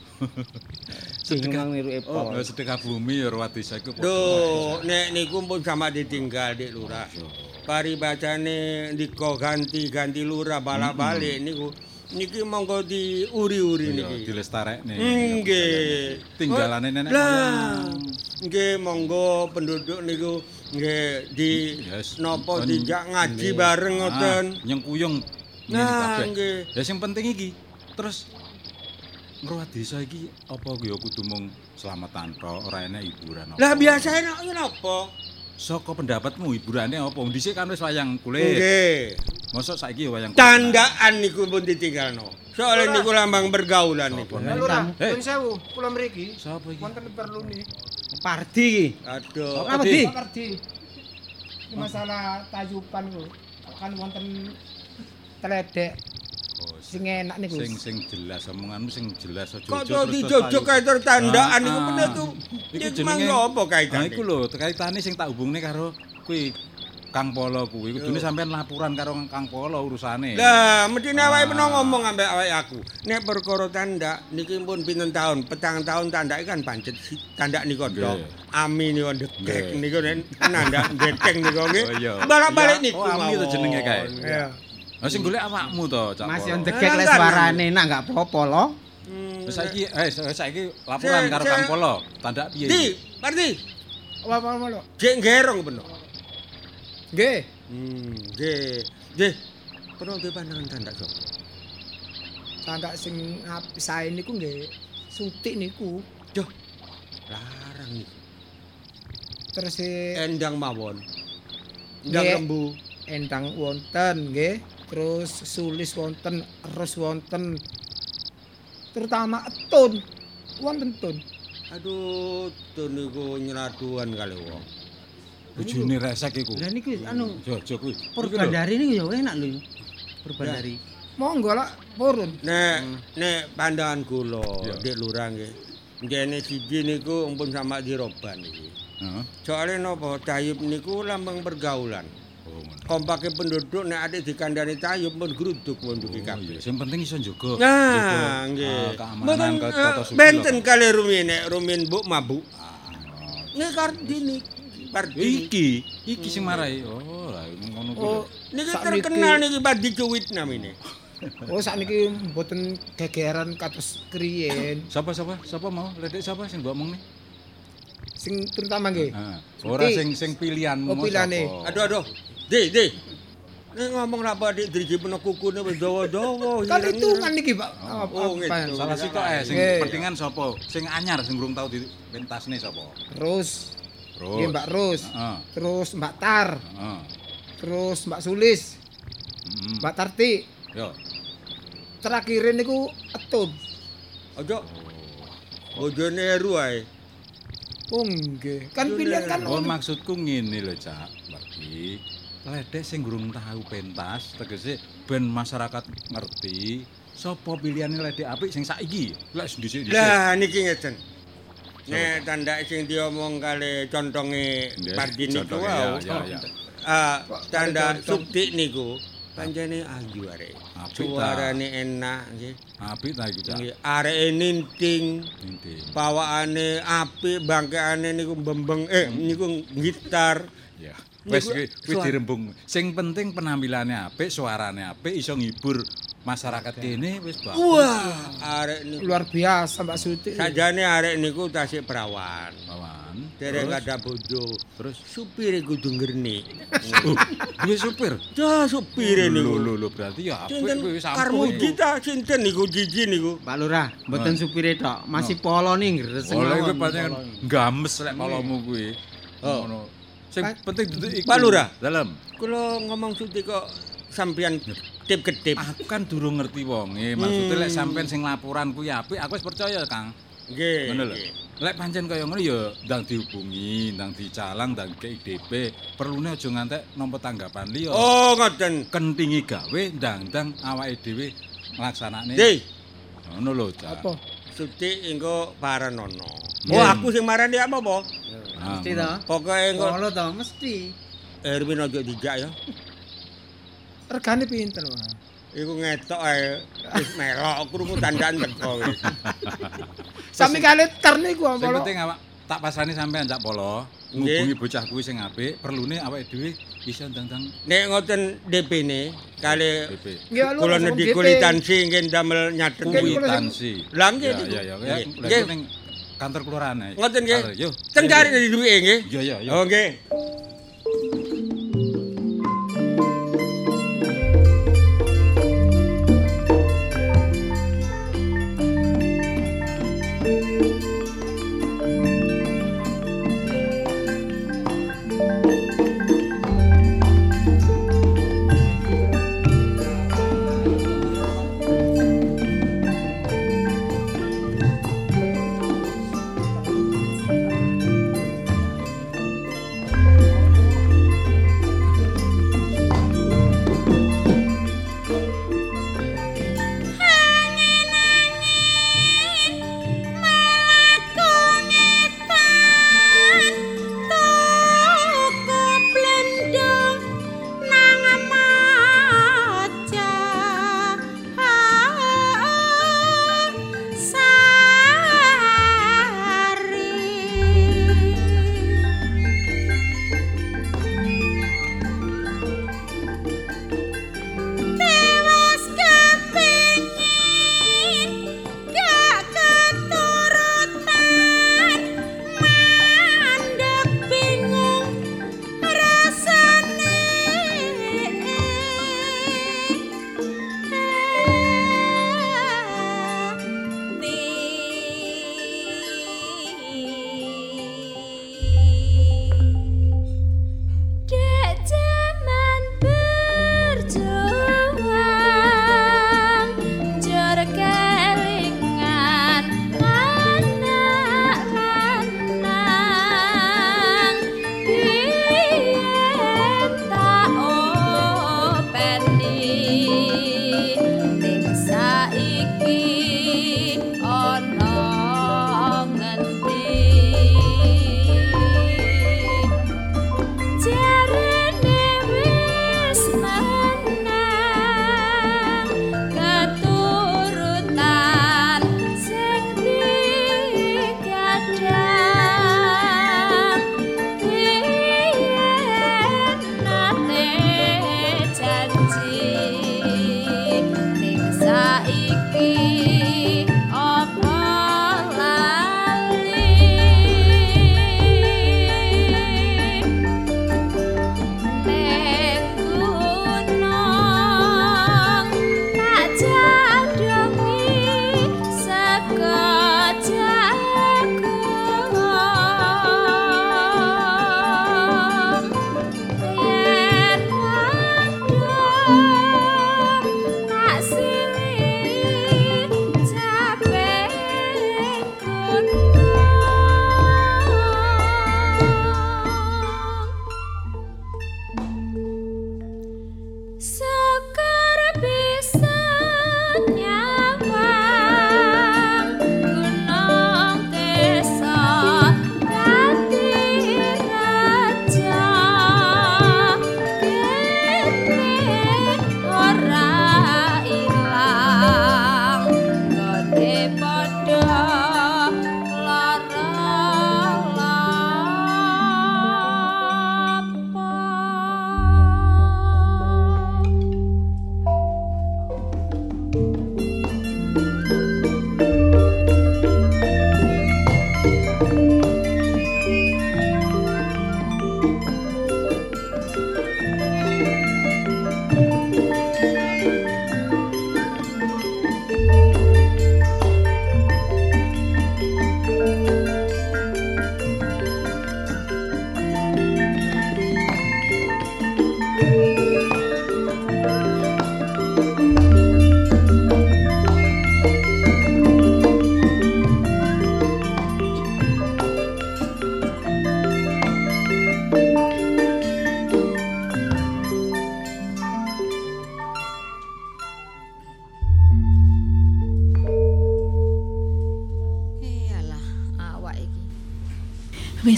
Sedekah niruke pol. Oh, sedekah bumi ya ruwat desa iku. Duh, nek niku pun sama ditinggal Dik Lurah. Paribacane ndika ganti-ganti lurah balak-balik niku. Niki monggo diuri-uri niki. Dilestarekne. Nggih. Tinggalane nenek Lah, moyang. nggih monggo penduduk niku nggih di napa dijak ngaji bareng ngoten. Nyengkuyung. Nah, nggih. Ya sing penting iki. Terus ngruwat desa iki apa ya kudu mung selamatan tok, ora enek hiburan apa. Lah biasa enak napa? Saka pendapatmu hiburane apa? Dhisik kan wis wayang kulit. Nggih. Mosok saiki ya wayang kulit. Tandaan niku pun ditinggalno. Soale niku lambang pergaulan niku. Lurah, nyuwun sewu, kula mriki. Sapa iki? Wonten perlu nih. Pardi iki. Aduh. Apa di? Pardi. Ini masalah tayuban ku. Kan wonten teledek sing enak niku. Sing jelas omonganmu sing jelas aja. Kok dijojok kae tandaan niku bener tuh. Iku Iki mangga apa kaitane? Iku lho, kaitane sing tak hubungne karo kuwi Kang Polo kuwi. Kudune sampean laporan karo Kang Polo urusane. Lah, mestine awake peno ngomong ambek awake aku. Nek perkara tandak niki pun pinten taun? 4 taun tandake kan pancet tandak niku tok. Ami niku ndekek niku nek nandak ndekeng niku nggih. Balik-balik niku. Oh, Ami to jenenge kae. Iya. Lah sing golek awakmu to, Cak Polo. Mas yo ndegek lek suarane nak enggak apa-apa lho. Saiki laporan karo Kang Polo. Tandak piye? Di, Parti. Apa lho? Jek ngerong bener. Nggih. Nggih. Nggih. Pernah duwe pandangan tandak sapa? Tandak sing sae niku nggih sutik niku. Duh. Larang niku. Terus Endang mawon. Nggih. Endang lembu. endang wonten nggih. Terus sulis wonten, erus wonten. Terutama etun. Wonten tun. Aduh, tun niku nyeraduan kali wong. Bojone resek iku. Lah niku anu Jojo kuwi. Purbandari niku ya enak lho. Purbandari. Monggo lah purun. Nek pandangan kula, Dik Lurah nggih. Ngene siji niku ampun sama diroban iki. Heeh. Soale napa Tayub niku lambang pergaulan. Kompake penduduk nek ade dikandani Tayub pun gruduk munduki kabeh. Sing penting iso njaga. Nah, nggih. Keamanan tata suci. Benten kali rumin nek rumin mbok mabuk. Nek Kartini Iki sing marai. Oh, lah ngono kuwi. Oh, niki terkenal niki Badi Cuwit namine. Oh, sakniki mboten gegeran kados kriyen. Sapa mau? Ledek sapa sing mbok omong nih? Sing terutama nggih. Ora sing pilihanmu. Oh, pilihane. Aduh. Di. Nek ngomong ra Dik driji peno kukune wis dawa-dawa. Kan hitungan niki, Pak. Oh, gitu. Salah sitok sing pentingan sapa? Sing anyar sing urung tau dipentasne sapa? Terus nggih Mbak Rus. Terus Mbak Tar. Terus Mbak Sulis. Mbak Tarti. Yo. Terakhir niku etun. Aja. Bojone eru ae. Oh nggih. Kan pilihan kan. Oh, maksudku ngene lho, Cak. Bagi ledek sing urung tahu pentas, tegese ben masyarakat ngerti sapa pilihane ledek apik sing saiki. Lek dhisik-dhisik. Lah niki ngeten. Nek tandak sing diomong kali contonge Pardini ku Ya. Tanda Sukti niku pancene ayu arek. Suarane enak nggih. Apik ta iku, Cak. Nggih, areke ninting. Pawakane apik, bangkeane niku mbembeng niku gitar. Ya. Wis dirembung. Sing penting penampilannya apik, suarane apik, iso ngibur masyarakat kene wis bagus. Wah, arek niku Luar biasa Mbak Suti. sajane arek niku tasik perawan. Derek ada bojo. Terus supire kudu ngerni. duwe supir. Ya supire niku. Lho berarti ya apik wis Karmuji ta sinten niku jiji niku. Pak Lurah, mboten supire tok, masih polone ngres Oleh kuwi mawon. pancen games lek polomu kuwi. Ngono. Sing penting duduk iku. Pak Lurah. Dalem. Kula ngomong Suti kok sampeyan kedip-kedip. Aku kan durung ngerti wonge. Maksudnya lek sampean sing laporan kuwi apik, aku wis percaya, Kang. Nggih. Ngono lho. Lek pancen kaya ngono ya ndang dihubungi, ndang dicalang, ndang KIDP. Perlune aja ngantek nampa tanggapan liya. Oh, ngoten. Kentingi gawe ndang-ndang awake dhewe nglaksanakne. Nggih. Ngono lho, Cak. Apa? Suti engko paranono. Oh, aku sing marani apa? Mesti to. Pokoke engko Polo to mesti. Erwin aja dijak ya. Regane pinten, Pak? Iku ngetok ae wis melok krungu dandan teko wis. Sami kali terne ku Sing apa? penting awak tak pasrani sampean Cak Polo. Ngubungi bocah kuwi sing apik, perlune awake dhewe iso ndang-ndang Nek ngoten DP-ne kali DP. Nggih, lho, kula langsung nedhi DP. kulitansi nggih damel nyatet Kuitansi. Lah nggih. Ya. Nggih. Lek ning kantor kelurahan ae. Ngoten nggih. Yo. Teng cari dari duwike nggih. Ya. Oh nggih.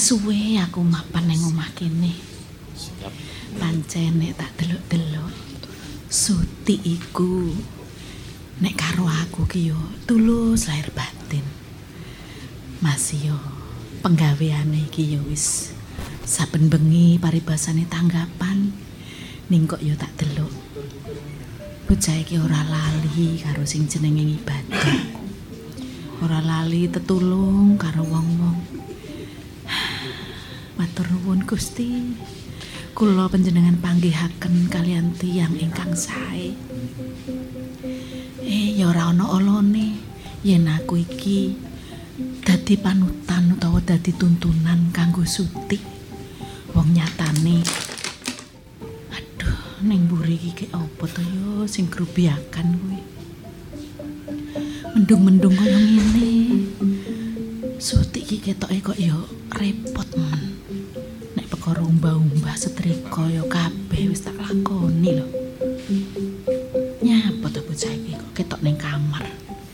suwe aku mapan nang omah kene. Pancen nek tak delok-delok Suti iku nek karo aku ki yo tulus lahir batin. Mas yo penggaweane iki yo wis saben bengi paribasane tanggapan ning kok yo tak delok. Bocah iki ora lali karo sing jenenge ibadah. Ora lali tetulung karo wong-wong. Matur nuwun Gusti. Kula panjenengan panggihaken kalian tiyang ingkang sae. Ya ora ana olone yen aku iki dadi panutan utawa dadi tuntunan kanggo Suti. Wong nyatane aduh ning mburi iki apa to yo sing grubiakan kuwi. Mendung-mendung kaya ngene. Suti iki ketoke kok yo repot men. Nek perkara umbah-umbah setrika yo kabeh wis tak lakoni lho. Nyapa to bocah iki kok ketok ning kamar.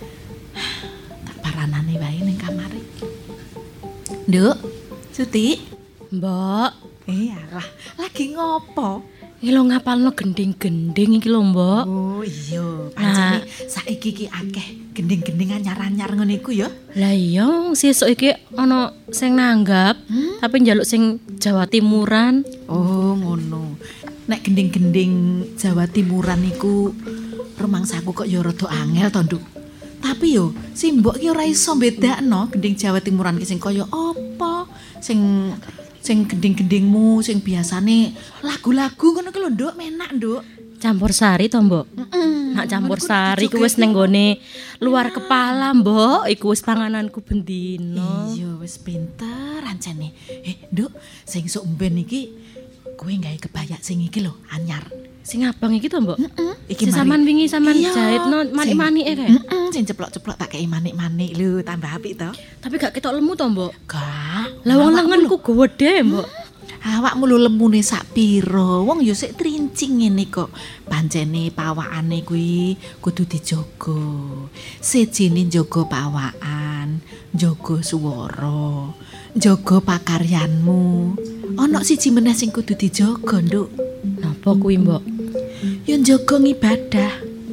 Tak paranane wae ning kamar iki. Nduk, Suti. Mbok, alah, lagi ngopo? iki lho ngapalno gending-gending iki lho, Mbok. Oh iya, pancene saiki iki akeh gending-gending anyar-anyar ngene iku ya. Lah iya, sesuk iki ana sing nanggap, tapi njaluk sing Jawa Timuran. Oh, ngono. Nek gending-gending Jawa Timuran iku rumangsaku kok ya rada angel to, Nduk. Tapi yo, si mbok ki ora iso bedakno gending Jawa Timuran ki sing kaya apa, sing gending-gendingmu sing biasane lagu-lagu ngono ki lho, Nduk, menak, Nduk. Campur sari to, Mbok? Nak campur sari ku wis ning gone luar kepala, Mbok. Iku wis pangananku bendino. Iya, wis pinter ancene. Nduk, sing sok mben iki kowe gawe kebaya sing iki lho, anyar. Sing abang iki to, Mbok? Iki sampean wingi sampean jahitno manik-manike kae. Sing ceplok-ceplok tak kei manik-manik lho, tambah apik to. Tapi gak ketok lemu to, Mbok? Gak. Lah wong lengenku gedhe, Mbok. Awakmu lho lemune sak pira? Wong ya sik trincing ngene kok. Pancene pawakane kuwi kudu dijaga. Sejine njaga pawakan, njaga swara, njaga pakaryanmu. Ana siji meneh sing kudu dijaga, Nduk. Napa kuwi, Mbok? Ya njaga ngibadah.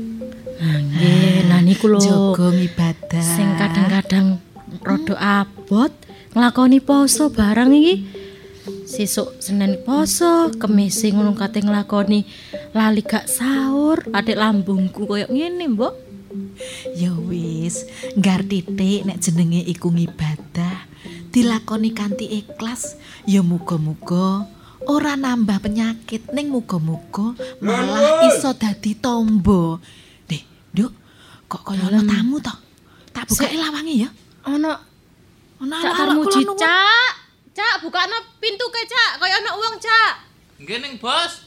Nggih, lah niku lho. Njaga ngibadah. Sing kadang-kadang rada abot nglakoni poso barang iki. Sesuk Senin poso, Kemis ngono kate nglakoni lali gak sahur, adik lambungku koyo ngene, Mbok. Ya wis, nggar titik nek jenenge iku ngibadah, dilakoni kanthi ikhlas, ya muga-muga ora nambah penyakit, ning muga-muga malah iso dadi tombo. Nduk, kok kaya ana tamu to? Tak bukake lawange ya. Ana Cak Tarmuji, Cak, bukakno pintu ke, Cak. Kaya ana wong, Cak. Nggih ning, Bos.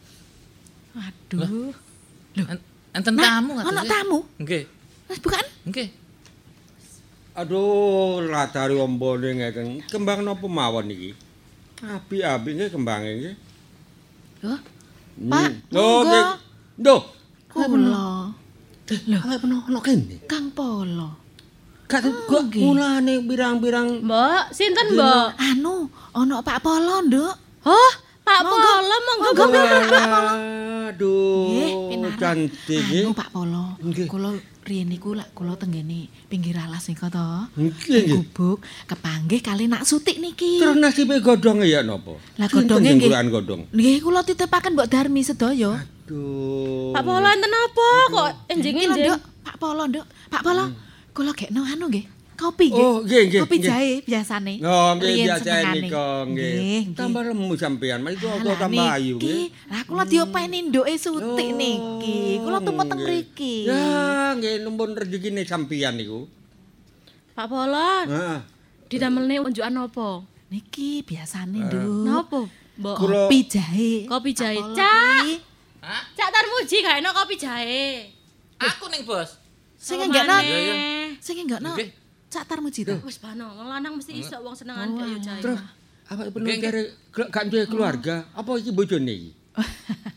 Aduh. Lho, enten tamu Ana tamu? Nggih. Wis bukaan? Nggih. Aduh, latari ombone ngeten. Kembang napa mawon iki? Api-api nggih kembange nggih. Loh. Pak, Loh, nggih. Nduh. Kula. Lho, awake peno kene. Kang Polo. Gak mulane pirang-pirang. Mbok, sinten, Mbok? Anu, ana Pak Polo, Nduk. Oh, Pak Polo, monggo Pak Polo. Aduh, cantik nggih. Anu Pak Polo. Kula riyen niku lak kula tenggene pinggir alas nika to. Nggih. Gubuk kepanggih kali nak Sutik niki. Terus nasibe godhonge ya napa? Lah godhonge nggih. Godhong. Nggih kula titipaken Mbok Darmi sedaya. Aduh. Pak Polo enten apa kok enjing-enjing? Pak Polo, Nduk. Pak Polo. Kula gekno anu nggih. Kopi nggih. Oh, nggih. Kopi jahe biasane. Oh, nggih Riyen biasa senengane. nika nggih. Tambah lemu sampean, mari kula tambah ayu nggih. Lah kula diopeni nduke Sutik niki. Kula tumpet teng mriki. Ya, nggih numpun rezekine sampean niku. Pak Polo. Heeh. Didamelne unjukan apa? Niki biasane, Nduk. Napa, Mbok? Kopi jahe. Kopi jahe. Pak Polo Cak. iki. Hah? Cak Tarmuji gak enak kopi jahe. Aku ning, Bos. Sing enggakno. Iya. Sing enggakno. Cak Tarmuji to. Wis bano, lanang mesti iso wong senengan kayu jahe. Terus awake penuh kare gak duwe keluarga. Apa iki bojone iki?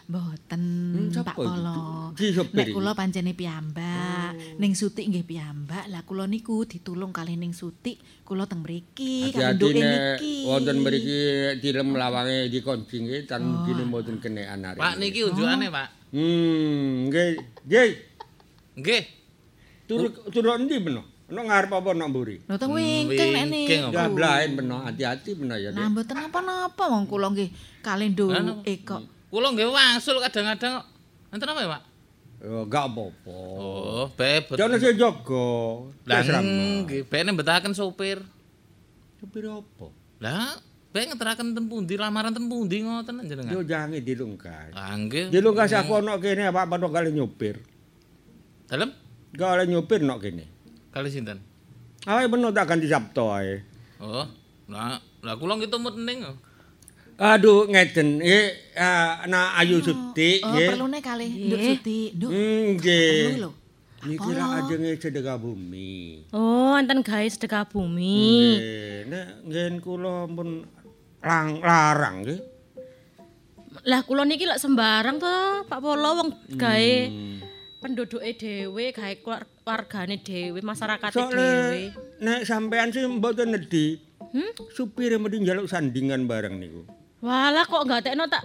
Mboten, Pak sapa iki? Polo. Ki sopir Nek iki? kula pancene piyambak, ning Sutik nggih piyambak. Lah kula niku ditulung kalih ning Sutik, kula teng mriki Hati-hati kanduke nek niki. wonten mriki tilem lawange dikunci nggih tan mungkin mboten kenekan arek. Pak niki unjukane, Pak. Nggih. Nggih. Nggih. Turu endi peno? Ono ngarep apa nok mburi? Lho teng wingking nek Wingking, niku. Ya blaen peno, hati-hati peno ya, Nah Dik. mboten napa-napa wong kula nggih kalih nduke kok. Kula nggih wangsul kadang-kadang kok. Enten apa ya, Pak? Ya gak apa-apa. Oh, bebet. Jono sing jaga. Lah Wis ramah. nggih, bene mbetahaken sopir. Supir apa? Lah, ben ngeteraken ten pundi lamaran ten pundi ngoten jenengan. Yo jange dilungkas. Ah nggih. Dilungkas aku ono kene apa padha kali nyopir. Dalem Kali nyopir nok kene. kali sinten? Ae beno tak ganti Sabtu ae. Oh, lah kula nggih tumut ning. Aduh ngeten ana Ayu Sutik Oh, nggih. perlune kalih nduk Sutik, nduk. Nggih. Perlu lho. Niki lak ajenge sedekah bumi. Oh, enten gawe sedekah bumi. Nggih, nek nggen kula pun larang nggih. Lah kula niki lek sembarang to, Pak Polo wong gawe penduduke dhewe, gawe wargane dhewe, masyarakate dhewe. Nek sampean sih mboten nedhi. Supire mesti njaluk sandingan bareng niku. Walah kok gatekno tak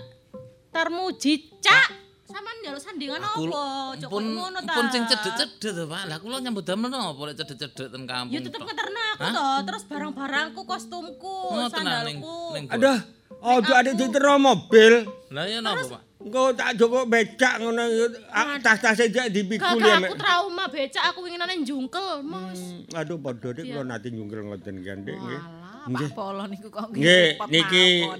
tarmuji, Cak. Sampeyan njaluk sandingan apa? Cok Pun ngono ta. pun sing cedhek-cedhek to, Pak. Lah kula nyambut damel napa lek cedhek-cedhek ten kampung. Ya tetep ngeterno aku to, terus barang-barangku, kostumku, Ngoten ah, ning sandalku. Aduh, ojo adek ditero mobil. Lah ya napa, Pak? Engko tak joko becak ngono tas-tase jak dipikul ya. Kakak aku trauma becak aku winginane njungkel, Mas. Aduh padha dik kula nate nyungkel ngoten kan dik nggih. Pak Polo niku kok Nggih, repot niki mawon.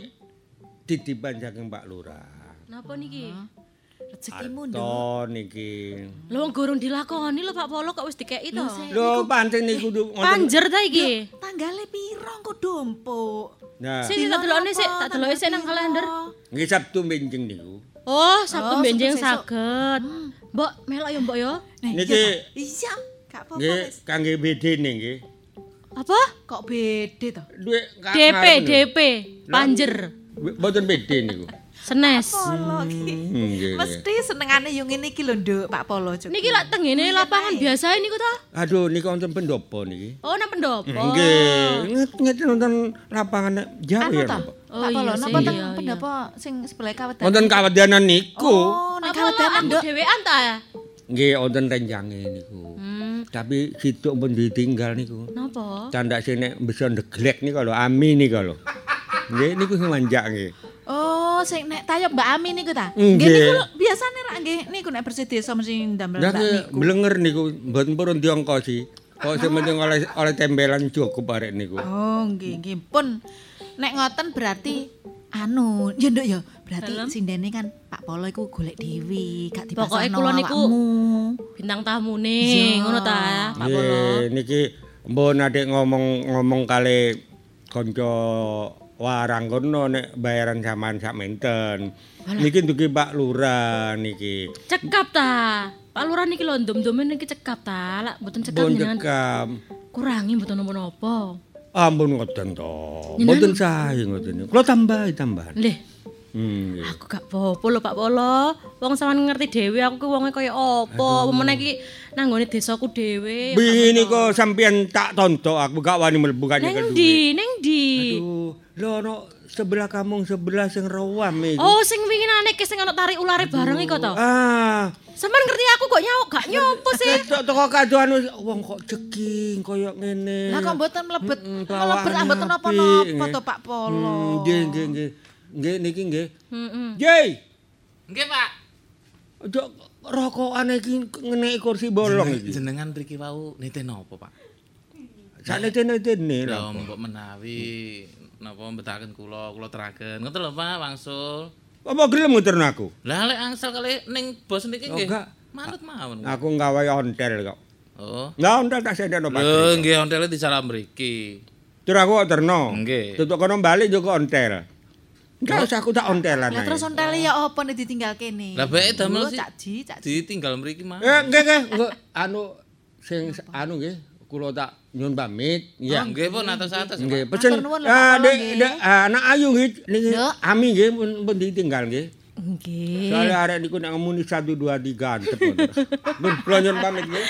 titipan saking Pak Lurah. Napa niki? Rezekimu nduk. To niki. Lho wong gurung dilakoni lho Pak Polo kok wis dikeki to. Lho pancen niku Panjer ta iki? Tanggale piro engko dompuk? Nah, Sik tak deloke sik, tak deloke sik nang kalender. nggih Sabtu benjing niku. Oh, Sabtu benjing sesuk. saged. Mbok melok ya Mbok ya. Niki Iya, gak apa-apa nggih wis. kangge bedene nggih. Apa? Kok beda to? Duit DP Panjer. Mboten bede niku. Senes. Polo iki. Nggih. Mesti senengane yo ngene iki lho nduk Pak Polo. Cuk. Niki lak tengene lapangan biasa niku ta? Aduh niku wonten pendopo niki. Oh, nang pendopo. Nggih, ngeten wonten lapangan Jawa Anu ya. to? Napa? Pak Polo iya napa sih, teng iya, iya. pendopo sing sebelah kawetan. Wonten kawedanan niku. Oh, nek Pak Polo kawetan aku nduk. dhewean ta ya? Nggih wonten renjange niku. Tapi situk pun ditinggal niku. Napa? Candak sing nek bisa ndeglek niku lho, Ami niku lho. Nggih niku sing manjak nggih. Oh, sing nek tayub Mbak Ami niku ta? Nggih. Nggih niku biasane rak nggih niku nek bersih desa mesti ndamel Lah Mbak niku. blenger niku mboten purun diongkosi. Kok sing penting oleh tembelan cukup arek niku. Oh, nggih nggih pun. Nek ngoten berarti anu, ya nduk ya. Berarti sindene kan Pak Polo iku golek dhewe, gak Pokoke dipasarno kula niku awakmu. bintang tamune Iya. ngono ta, Pak Polo. Nggih niki mbon adek ngomong kali kanca warang kono nek bayaran sampean sak menten. Niki dugi Pak Lurah niki. Cekap ta. Pak Lurah niki lho ndom-ndome niki cekap ta. Lak mboten cekap Pun jenengan. cekam. Kurangi mboten napa-napa. Ampun ngoten to. Mboten sae ngoten. Kula tambahan. Lih, Nggih. aku gak apa-apa lho Pak Polo. Wong sampean ngerti dhewe aku ki wonge kaya apa. Meneh iki nanggone desaku dhewe. Bini kok sampean tak tontok aku gak wani mlebu kanye Neng kedue. ndi? Neng ndi? Aduh, lho ono sebelah kampung sebelah sing rawam iki. Oh, sing winginane ki sing ana tarik ulare bareng iku to. Ah, Sampeyan ngerti aku kok gak nyopo sih. toko kadoan wong kok ceking koyo ngene. Lah kok mboten mlebet bawaane mboten apik, napa-napa nggih. to Pak Polo. Nggih. Nggih niki nggih. Heeh. Jey, Nggih, Pak. ojo rokokan iki ngeneki kursi bolong iki. Jenengan mriki wau nite napa, Pak? Saknete-netene Lah lho. mbok menawi napa mbetahaken kula teraken. Ngoten lho, Pak, wangsul. Apa gelem nguterno aku? Lah lek angsal kali ning bos niki Oh, nggih. enggak. Manut mawon. Aku nggawe ontel kok. Oh. Lah ontel tak sendekno Pak. Lho, nggih ontele disalah mriki. Tur aku kok terno. Nggih. Tutuk kono balik yo kok ontel. Enggak usah aku tak ontelan Lah ae. terus ontele ya apa nek ditinggal kene? Lah bae damel sih. Cakji. Ditinggal mriki mah. Nggih. Anu sing anu nggih, kula tak nyuwun pamit. Ya. Nggih pun atas-atas. Nggih, pesen. Matur nuwun lho, Pak Polo, nggih. Dek anak ayu nggih niki Nduk. Ami nggih pun ditinggal nggih. Nggih. Soale arek niku nek ngemuni 1 2 3 antep. Mun kula nyuwun pamit nggih.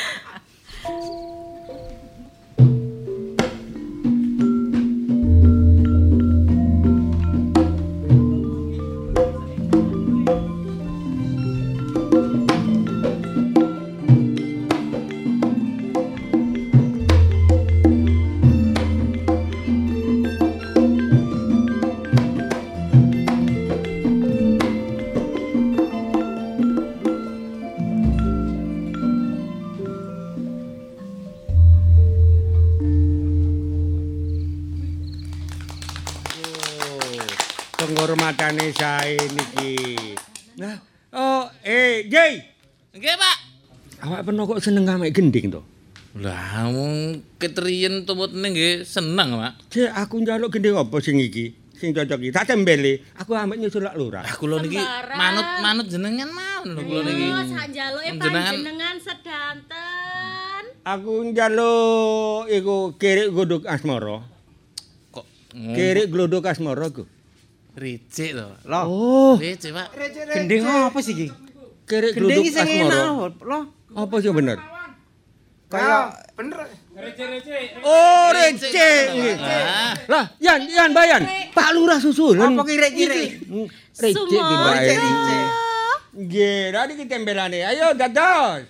Penghormatane sae niki. Nah, Jay. Nggih, Pak. Awak peno kok seneng ame gending to? Lah wong ketriyen tumutne nggih seneng, Pak. Jay, aku njaluk gending apa sing iki? Sing cocok iki. Tak tembeli. Aku ambek nyusul lak lurah. Ah kula niki manut jenengan mawon lho kula niki. Sak njaluke panjenengan sedanten. Aku njaluk iku kirik godhog asmara. Kok kirik glodhog asmara ku. Ricik to. Oh. Ricik, Pak. Gending apa sih iki? Kirik glodhog asmara. Loh. Apa sih bener? Kayak bener. Oh, recek. Lah, Yan bayan. Pak Lurah susulan. Apa kirek-kirek? Recek ki bae. Nggih, radi ki tembelane. Ayo dados.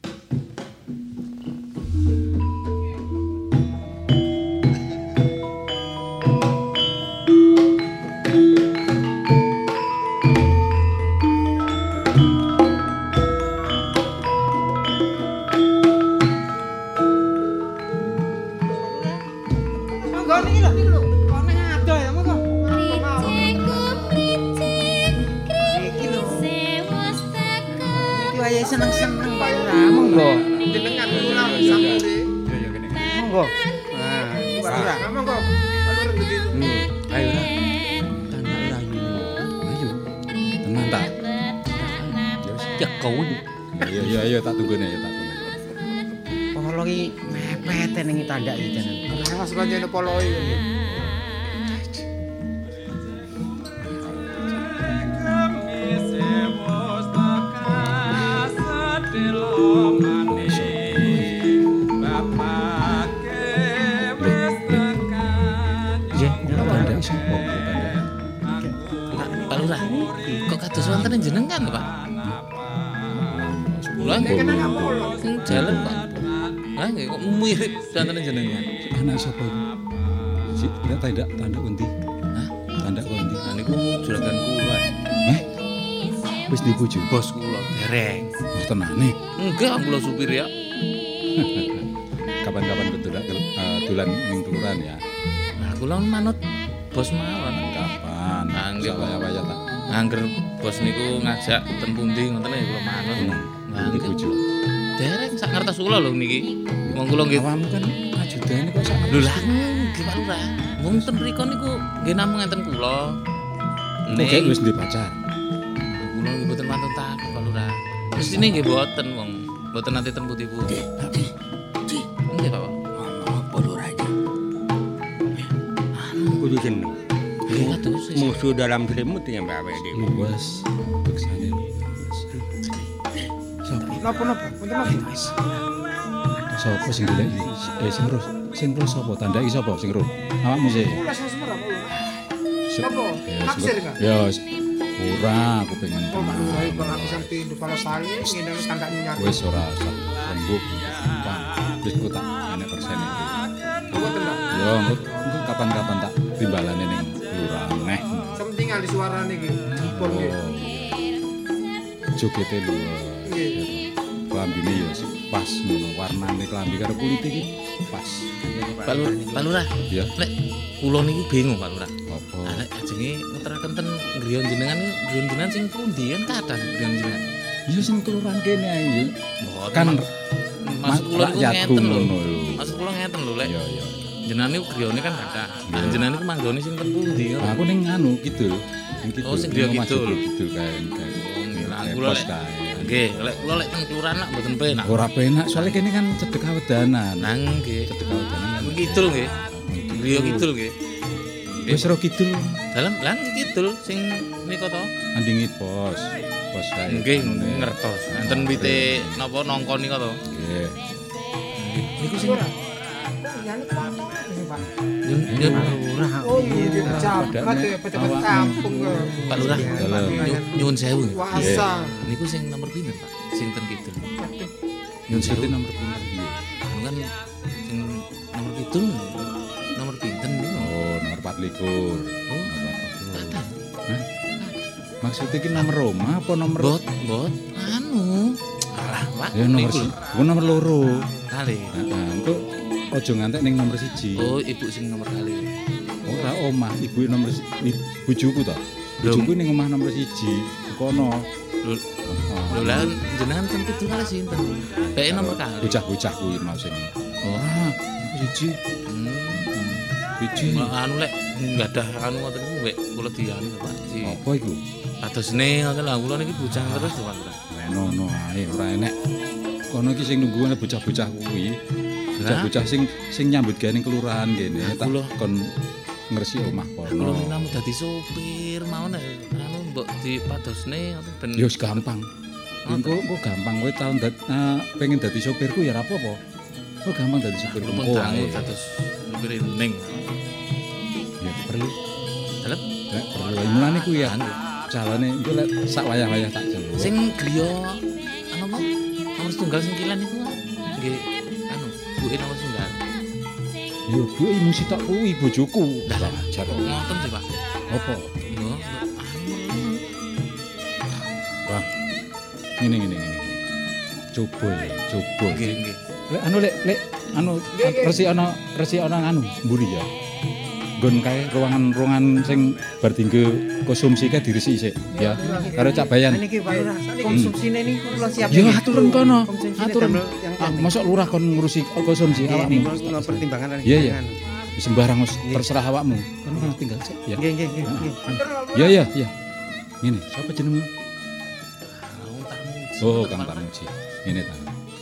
Seneng-seneng Pak Lurah. Monggo. Jenengan kula sampure. Monggo. Nah, Pak Lurah. Monggo. Pak Lurah ngendi? Ayo lah. Tanah layu. Ayo. Tenang tak? Ya kau. Ayo tak tunggone ya tak tunggone. Polo ki mepet ning tandak iki tenan. Awas kancane polo iki. Pak Lurah, kok kados wonten jenengan, Pak? Lha nggih jalan, Pak. Lah nggih kok mirip wonten jenengan. Anak sapa iki? Si tanda undi. Hah? Tanda undi. Lah niku juragan kula. Wis dibujuk Bos kula dereng. Oh tenane. Enggak, kula supir ya. Kapan-kapan dolan ning kelurahan ya. Nah, kula manut bos mawon. Kapan? Nggih, waya tak. Angger bos niku ngajak ten pundi ngoten ya kula manut. Nah, dibujuk. Dereng sak ngertos kula lho niki. Wong kula nggih Awakmu kan ajudane kok sak. lho lah nggih Pak Lurah. Wong ten mriku niku nggih namung ngenten kula. Nek wis ndek pacar. Kula nggih mboten mantun takon Pak Lurah. Mestine nggih mboten wong mboten nate ten putih-putih. Nggih Pak. Apa Lurah iki? Kudu seneng. Nggih kados. Musuh dalam selimut ya Mbak awake dhewe. Luwes. Beksane. Napa? Punten napa? Sopo sing golek iki? Sing roh sapa? Tandai sapa sing roh? Awakmu sih. Kula sing semer apa Lurah? Napa? Ya, Naksir enggak? Ya, ora aku pengen. Oh, Pak Lurah iki bakal pisan tindu kala sali ngene tanda nyar. Wis ora usah rembug. Wis kok tak enek persen iki. Mboten ta? Yo, engko kapan-kapan tak timbalane ning kelurahan neh. Sementingan di suarane iki. Jipun nggih. Jogete luwes. Nggih. Klambine ya pas ngono, warnane klambi karo kulit iki pas. Pak Lurah. Ya. Lek kula niki bingung Pak Lurah. Apa? Lek ajenge ngeteraken ten griya jenengan sing pundi kan kathah griya jenengan. Ya sing kelurahan kene ae yo. Mboten, Kan maksud kula niku rakyatku ngeten lho. ngono lho. Maksud kula ngeten lho lek. Iya, iya. Jenengan niku griyane kan kathah. Nah, jenengan niku manggone sing ten pundi ngono. Aku ning anu kidul. Ning kidul. Oh, sing griya Ning kidul. Kidul kae. Oh, nggih lah Kae kula pos lek. kae. Nggih, lek kula lek teng kelurahan lak mboten penak. Ora penak soalnya kene kan cedek awedanan. Nang nggih. Cedek awedanan kan Kidul nggih. Griya kidul nggih. Wis ro kidul. Dalam lan kidul sing nika to. Andingi pos. Pos kae. Nggih ngertos. Enten wite napa nangka nika to. Nggih. Niku sing Oh, jabat ya pejabat kampung kok. Pak Lurah, nyuwun sewu. Wasa. Niku sing nomor pinten, Pak? Sing ten kidul. Nyun sewu nomor pinten piye? Anu kan sing nomor kidul nomor pinten niku? Oh, nomor 24. Oh, Hah? Maksudnya ki nomor Roma apa nomor bot? Anu. Alah, Pak. Ya nomor nomor loro. Kali. Heeh, engko aja ngantek ning nomor 1. Oh, ibu sing nomor kali. Ora omah, ibu nomor bojoku to. Bojoku ning omah nomor 1. Kono. Lho lah jenengan ten kidul kali sinten? Bae nomor kali. Bocah-bocah kuwi mau sing. Ora, 1. Biji. Anu lek enggak ada anu ngoten niku mbek kula dianu Pak. Apa iku? Padosne ngoten lho kula niki bujang terus to Pak. Ngono ae ora enek. Kono iki sing nunggu ana bocah-bocah kuwi. Bocah-bocah sing nyambut gawe ning kelurahan kene tak kon ngresi omah kono. Kula namu dadi sopir mawon anu mbok dipadosne ngoten ben. Ya wis gampang. Engko gampang kowe tau pengen dadi sopirku ya ora apa-apa. Kowe gampang dadi sopirku. Oh, dados sopir ning. Ya perlu. Dalem? Lek perlu mulane ku ya. Calone engko lek sak wayah-wayah tak jaluk. Sing griya anu apa? Nomor tunggal sing kilan niku nggih anu buke nomor tunggal. Yo buke musik tok kuwi bojoku. Lah jar ngoten sih, Pak. Apa? Yo Wah. Ngene. Coba. Nggih. Lek anu resi ana anu mburi ya. Nggon kae ruangan sing bar dinggo konsumsi kae diresi sik ya. Karo Cak Bayan. Niki Pak Lurah, konsumsine niku kula siapke. Ya aturen kono. Aturen. Mosok lurah kon ngurusi konsumsi awakmu. Kula pertimbangan Iya. Sembarang terserah awakmu. Kono tinggal sik ya. Nggih. Iya. Ngene, sapa jenengmu? Oh, Kang Tarmuji. Ngene ta.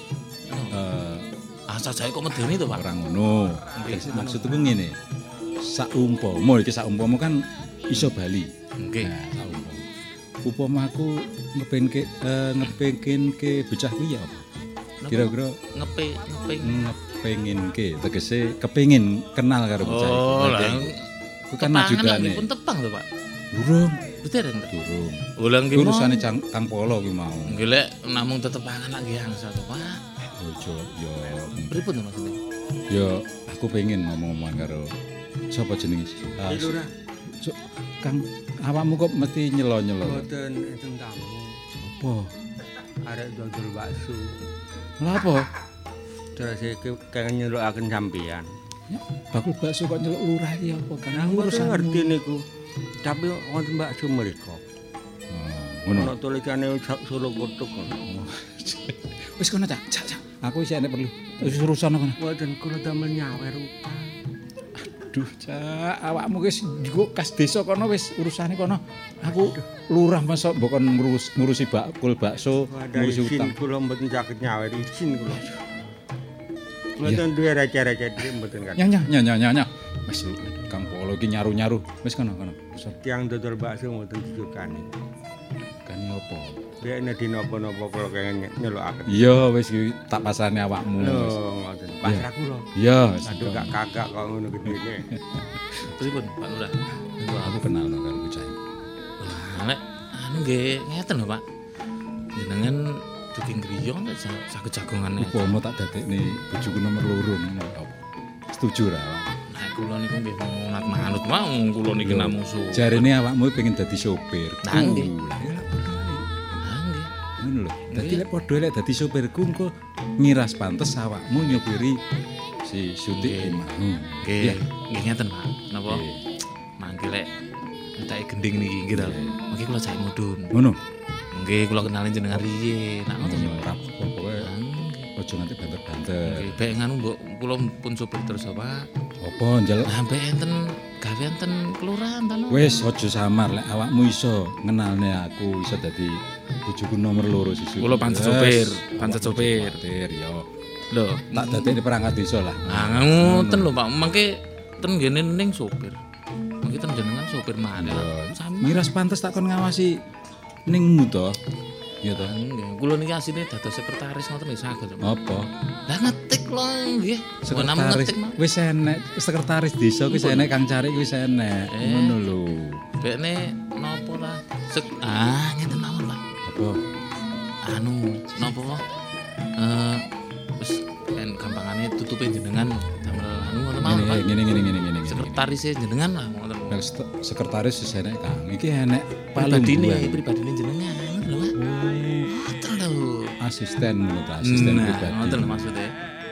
Sajae kok medeni to, Pak. Ora ngono. Maksudku ngene. Saumpama kan iso bali. Nggih. Nah, saumpama. Upama aku ngepengke bocah kuwi ya apa? Kira-kira ngepenginke tegese kepengin kenal karo bocah iki. Oh, lah. Ku kan majudane. Pun tepang to, Pak. Durung. Betul Durung. Ulang ki urusane Kang Polo kuwi mau. Nggih lek namung tetepangan lak nggih angsa to, Pak. Ojo yo. Pripun to maksudnya? Yo aku pengen ngomong-ngomong karo sapa jenenge? Lurah. Kang, awakmu kok mesti nyelo-nyelo? Mboten enten tamu. Apa? Arek dodol bakso. Lha apa? Terus iki kangen nyelukaken sampean. Bakul bakso kok nyeluk lurah iki apa? Kan urusan ngerti niku. Tapi wonten bakso mriku. Ngono. Ono tulisane Solo Kutuk. Wis kono, Cak. Aku isih enek perlu. Wis urusan kono. Mboten kula damel nyawer utang. Aduh, Cak, awakmu wis kas desa kono wis urusane kono. Aku lurah masa mbok kon ngurusi bakul bakso, ngurusi utang. Kula mboten saged nyawer izin kula. Mboten duwe receh-receh mboten kan. Nya. Wis Kang Polo iki nyaru-nyaru. Wis kono. Tiang dodol bakso mboten disukani. Kani apa? Biyen dina apa-apa kula kangen nyelukaken. Iya, wis tak pasane awakmu. Lho, ngoten. Pasrah kula. Iya, wis. Aduh gak kakak kok ngono gedene. Pripun, Pak Lurah? Aku kenal karo bocah. Nek anu nggih ngeten lho, Pak. Jenengan dugi griya nek saged jagongane. Upama tak dadekne bojoku nomor 2 ngono apa? Setuju ra awakmu? Nek kula niku nggih manut mau kula niki namung su. Jarene awakmu pengen dadi sopir. Nah, nggih. Ngono lho. Dadi lek padha lek dadi sopirku engko ngiras pantes awakmu nyopiri si Sutik mau. Nggih. Nggih ngeten, Pak. Napa? Mangke lek entake gending niki nggih ta. Mangke kula jake mudhun. Ngono. Nggih, kula kenalin jenengan riye. Nak ngoten ora pokoke aja nganti banter-banter. Nggih, bae nganu mbok kula pun sopir terus, Pak. Apa njaluk? Lah bae enten gawe enten kelurahan ta. Wis aja samar lek awakmu iso ngenalne aku iso dadi bojoku nomor 2 sisi. Kula pancet sopir, ya. Lho, tak dadekne perangkat desa lah. Ah ngoten lho, Pak. Mangke ten ngene ning sopir. iki ten jenengan sopir maneh lah. Miras pantes tak kon ngawasi ningmu to. Ya to. Nggih, kula niki asline dados sekretaris ngoten nggih saged. Apa? Lah ngetik lho nggih. Sekretaris wis enek, sekretaris desa wis enek Kang Cari wis enek. Ngono lho. Bekne napa lah? Ngeten mawon, Pak. Apa? Anu, napa? Wis gampangane tutupe jenengan damel anu ngoten mawon, Pak. Ngene. Sekretaris jenengan lah ngoten. Sekretaris wis enek Kang. Iki enek pribadine jenengan lho, Pak. Ngoten lho. Asisten pribadi. Ngoten lho maksude.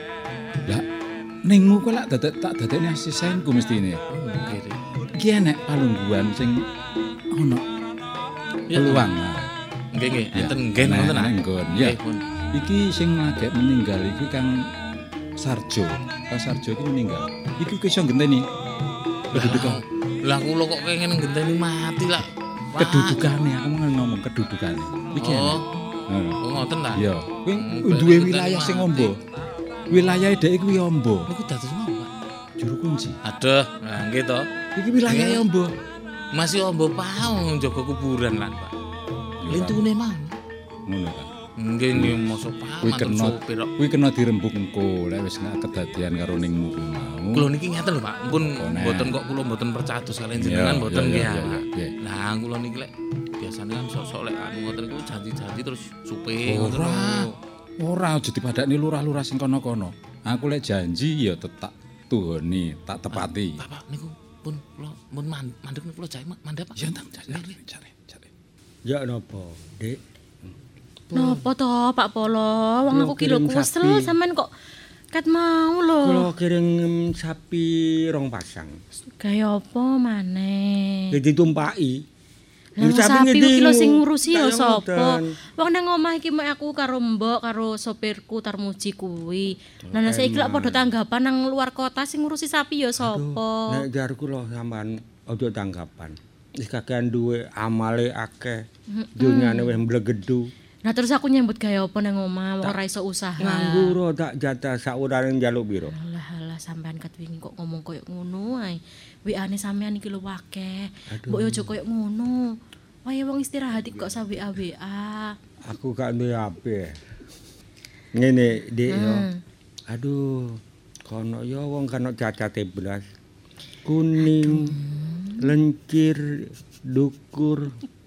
Lah ningmu kok lak tak dadekne asistenku mestine. Nggih. Iki enek palungguhan sing ono peluang. Nggih, enten nggih ngoten ah. Ya. Iki sing lagek meninggal iki Kang Sarjo. Kang Sarjo iki meninggal. Iki iso ngenteni kedudukan. Lah kula kok pengen ngenteni mati lah. Kedudukane aku ngomong kedudukane. Iki enek. Oh ngoten ta? Iya. Kuwi duwe wilayah sing ombo. Wilayahe dhek kuwi ombo. Niku dados napa, Pak? Juru kunci. Aduh, nah nggih to. Iki wilayahe ombo. Masih ombo paung jaga kuburan lan, Pak. Lintune mah. Ngono kan. Nggih mosok paman kuwi kena dirembuk engko lek wis kedadian karo ningmu kuwi mau. Kula niki ngeten lho, Pak. Pun mboten kok kula mboten percados kalian jenengan mboten nggih. Lah kula niki lek biasane kan sok-sok lek anu ngoten iku janji-janji terus supe ngoten lho. Ora aja dipadakne lurah-lurah sing kono-kono. Aku lek janji ya tak tuhoni, tak tepati. Bapak niku pun kula mun mandeg niku kula jae mandhap Pak. Ya tak cari. Ya napa, Dik? Napa to Pak Polo? Wong aku ki lho kusel sampean kok ket mau lho. Kula kirim sapi 2 pasang. Gaya apa maneh? Ditumpaki. Lah sapi iki lho sing ngurusi ya sapa? Wong nang omah iki mek aku karo mbok karo sopirku Tarmuji kuwi. Lah saiki lak padha tanggapan nang luar kota sing ngurusi sapi ya sapa? Nek jarku lho sampean aja tanggapan. Wis kakean duwe amale akeh. Dunyane wis mblegedu. Nah terus aku nyambut gaya apa nang omah wong ora iso usaha. Nganggur tak jatah saurane njaluk piro? Alah sampean ket wingi kok ngomong koyo ngono ae. WA-ne sampean iki lho akeh. Mbok yo aja koyo ngono. Wae wong istirahat kok sa WA. Aku gak duwe HP. Ngene, Dik yo. Aduh, kono yo wong kena cacate blas. Kuning, lencir, dukur.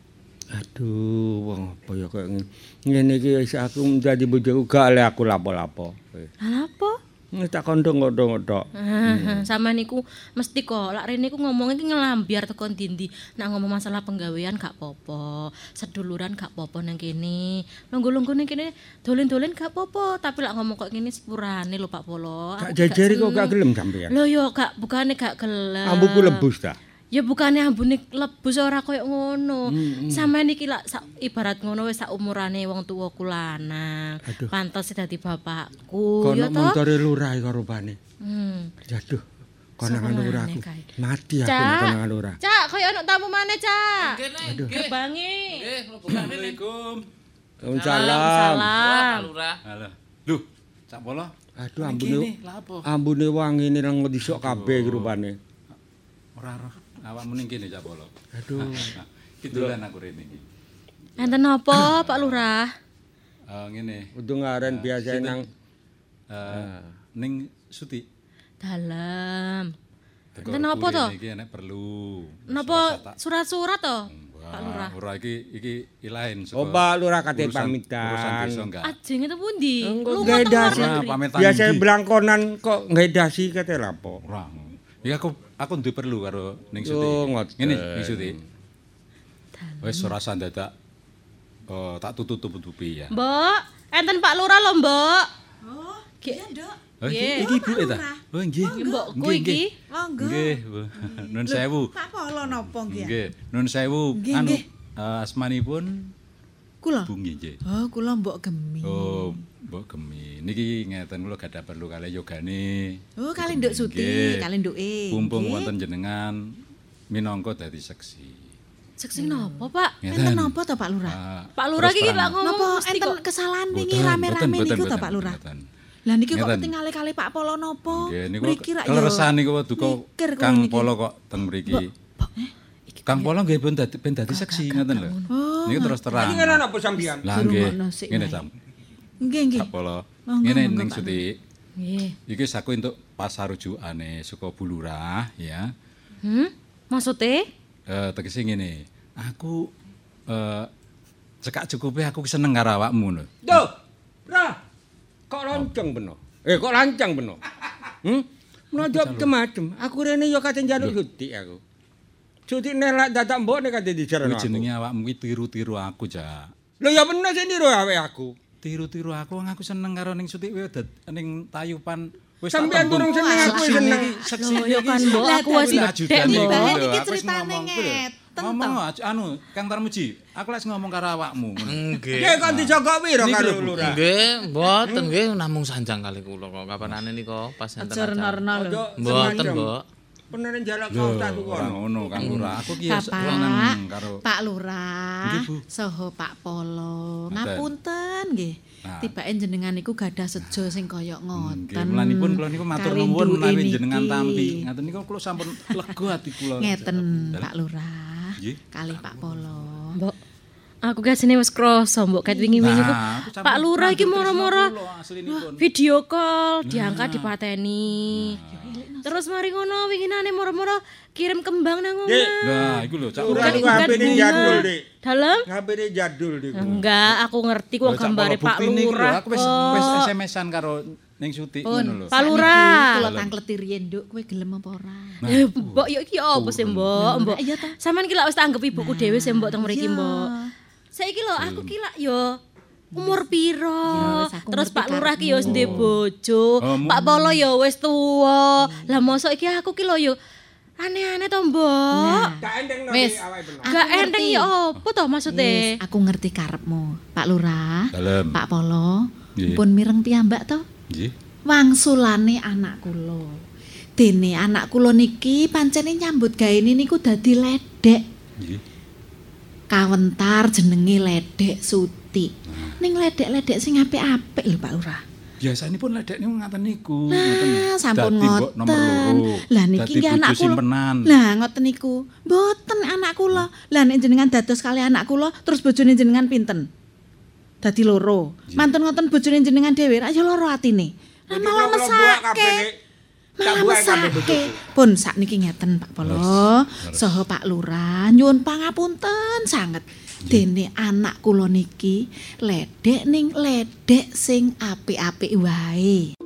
Aduh, wong apa ya kok ngene iki wis aku dadi bojoku gak oleh aku lapo-lapo. Lah apa? Tak kondong-kondong tok. Sama niku mesti kok lak rene ku ngomong iki ngelambiar teko ndi-ndi. Nek ngomong masalah penggawean gak apa-apa, seduluran gak apa-apa nang kene. Lungguh-lungguh nang kene dolen-dolen gak apa-apa, tapi lak ngomong kok ngene sepurane lho Pak Polo. Gak jejeri kok gak gelem sampean. Lho yo gak bukane gak gelem. Ambuku lebus ta. Ya bukane ambune lebus ora koyo ngono. Sampeyan iki lak ibarat ngono wis sak umurane wong tuwa lanang. Pantes dadi bapakku ya to. Kono montore lurah karo rupane. Aduh. Konangan lurahku. Mati aku konangan lurah. Cak, koyo ana tamu maneh, Cak. Aduh. Gebangi. Nggih, Assalamualaikum. Waalaikumsalam. Pak Lurah. Halo. Duh, Cak Polo. Aduh ambune wangi ini nang disok kabeh rupane. Ora awakmu ning kene Cak Polo. Aduh. Kitulan aku rene iki. Enten apa Pak Lurah? Ngene. Kudu ngaren biasa nang ning Suti. Dalam. Enten apa to? Iki enek perlu. Napa surat-surat to? Pak Lurah. Ora iki ilahin Oh, Pak Lurah kate pamitan. Urusan desa enggak. Ajeng itu pundi? Lunga dasi. Biasa blangkonan kok ngedasi kate lapo. Ora. Iki aku duwe perlu karo ning Suti. Ngene, ning Suti. Wis ora sandadak tak tutup-tutupi ya. Mbok, enten Pak Lurah lho, Mbok. Oh, iya, Nduk. Iki ibuke ta? Oh nggih. Mbokku iki. Monggo. Nggih. Nun sewu. Pak Polo napa nggih? Nggih. Nun sewu. Anu asmanipun kula. Bu nggih. Oh, kula Mbok Gemi. Oh, Mbok Gemi. Niki ngeten kula gadah perlu kalih yogane. Oh, kalih Nduk Suti, kalih Nduke. Mumpung wonten jenengan minangka dadi seksi. Seksi napa, Pak? Enten napa to Pak Lurah? Pak Lurah iki lak ngomong napa enten kesalahan wingi rame-rame niku to Pak Lurah? Lah niki kok ketingale kali Pak Polo napa? Nggih niku Mriki rak yo. kleresan niku duka Kang Polo kok teng mriki. Kang Polo nggih ben dadi seksi ngoten lho. Niku terus terang. Iki ngene apa sampeyan? Lah nggih. Ngene Cam. Nggih. Kang Polo. Ngene ning Suti. Nggih. Iki saku entuk pasar rujukane saka Bulurah ya. Maksudnya? Tegese ngene. Aku cekak cukupe aku seneng karo awakmu lho. Duh. Ra. Kok lancang beno? Kok lancang beno? Menodok macem. Aku rene ya kate njaluk Suti aku. Suti nelak dadak mbok nek kate dijarno aku. Jenenge awakmu iki tiru-tiru aku, Jak. Lho ya bener sing niru aku. Tiru-tiru aku seneng karo ning Suti ning Tayupan. Wis sampeyan durung seneng aku seneng. Seksi ya kan mbok aku wis gedhe mbok. Iki critane ngeten to. Ngomong Kang Tarmuji, aku lek ngomong karo awakmu. Nggih. Nggih kon dijogok piro karo Lurah? Nggih, mboten nggih namung sanjang kali kula kok kapanane nika pas enten acara. Ajarna lho. Mboten, Mbok. Peneren jalak kaos tak tuku ora ngono Kang Lurah. Aku ki seneng karo Pak Lurah saha Pak Polo. Ngapunten nggih. Tibake jenengan iku gadah sejo sing kaya ngoten. Mulanipun kula niku matur nuwun menawi jenengan tampi. Ngaten niku kula sampun lega ati kula. Ngeten Pak Lurah. Kalih Pak Polo. Mbok aku gasine wis krasa mbok ket wingi-wingi ku Pak Lurah iki moro-moro video call diangkat dipateni. Terus mari ngono winginane moro-moro kirim kembang nang omah. Nah, iku lho Cak Lurah iku HP-ne jadul, Dik. Dalem? HP-ne jadul Dik. Enggak, aku ngerti kok gambare Pak Lurah. Aku wis SMS-an karo ning Suti ngono lho. Pak Lurah. Kula tangkleti riyen, Nduk, kowe gelem apa ora? Mbok yo iki apa sih, Mbok? Mbok. Sampeyan ki lak wis tak anggap ibuku dhewe sih, Mbok teng mriki, Mbok. Saiki lho aku ki lak yo umur piro? Terus Pak Lurah ki yo wis ndek bojo, Pak Polo yo wis tuwa. Lah mosok iki aku ki lho yo aneh-aneh to, Mbok. Gak enteng no Wis, awake bener. Gak enteng ya apa to maksudnya? Aku ngerti karepmu, Pak Lurah. Dalem. Pak Polo, pun mireng piyambak to? Nggih. Wangsulane anak kula. Dene anak kula niki pancene nyambut gaene niku dadi ledek. Nggih. Kawentar jenenge Ledek Suti. Ning ledek-ledek sing apik-apik lho Pak Lurah. Biasanipun ledek niku ngaten niku. Nah, sampun Dadi mbok nomor ngoten. loro. Lah niki nggih anak kula. Lah ngoten niku. Mboten anak kula. Lah nek jenengan dados kali anak kula terus bojone jenengan pinten? Dadi loro. Mantun ngoten bojone jenengan dhewe ra ya loro atine. Lah malah mesake. Malah mesake. Pun sakniki ngeten Pak Polo. Saha Pak Lurah nyuwun pangapunten sanget. Dene anak kula niki ledek ning ledek sing apik-apik wae.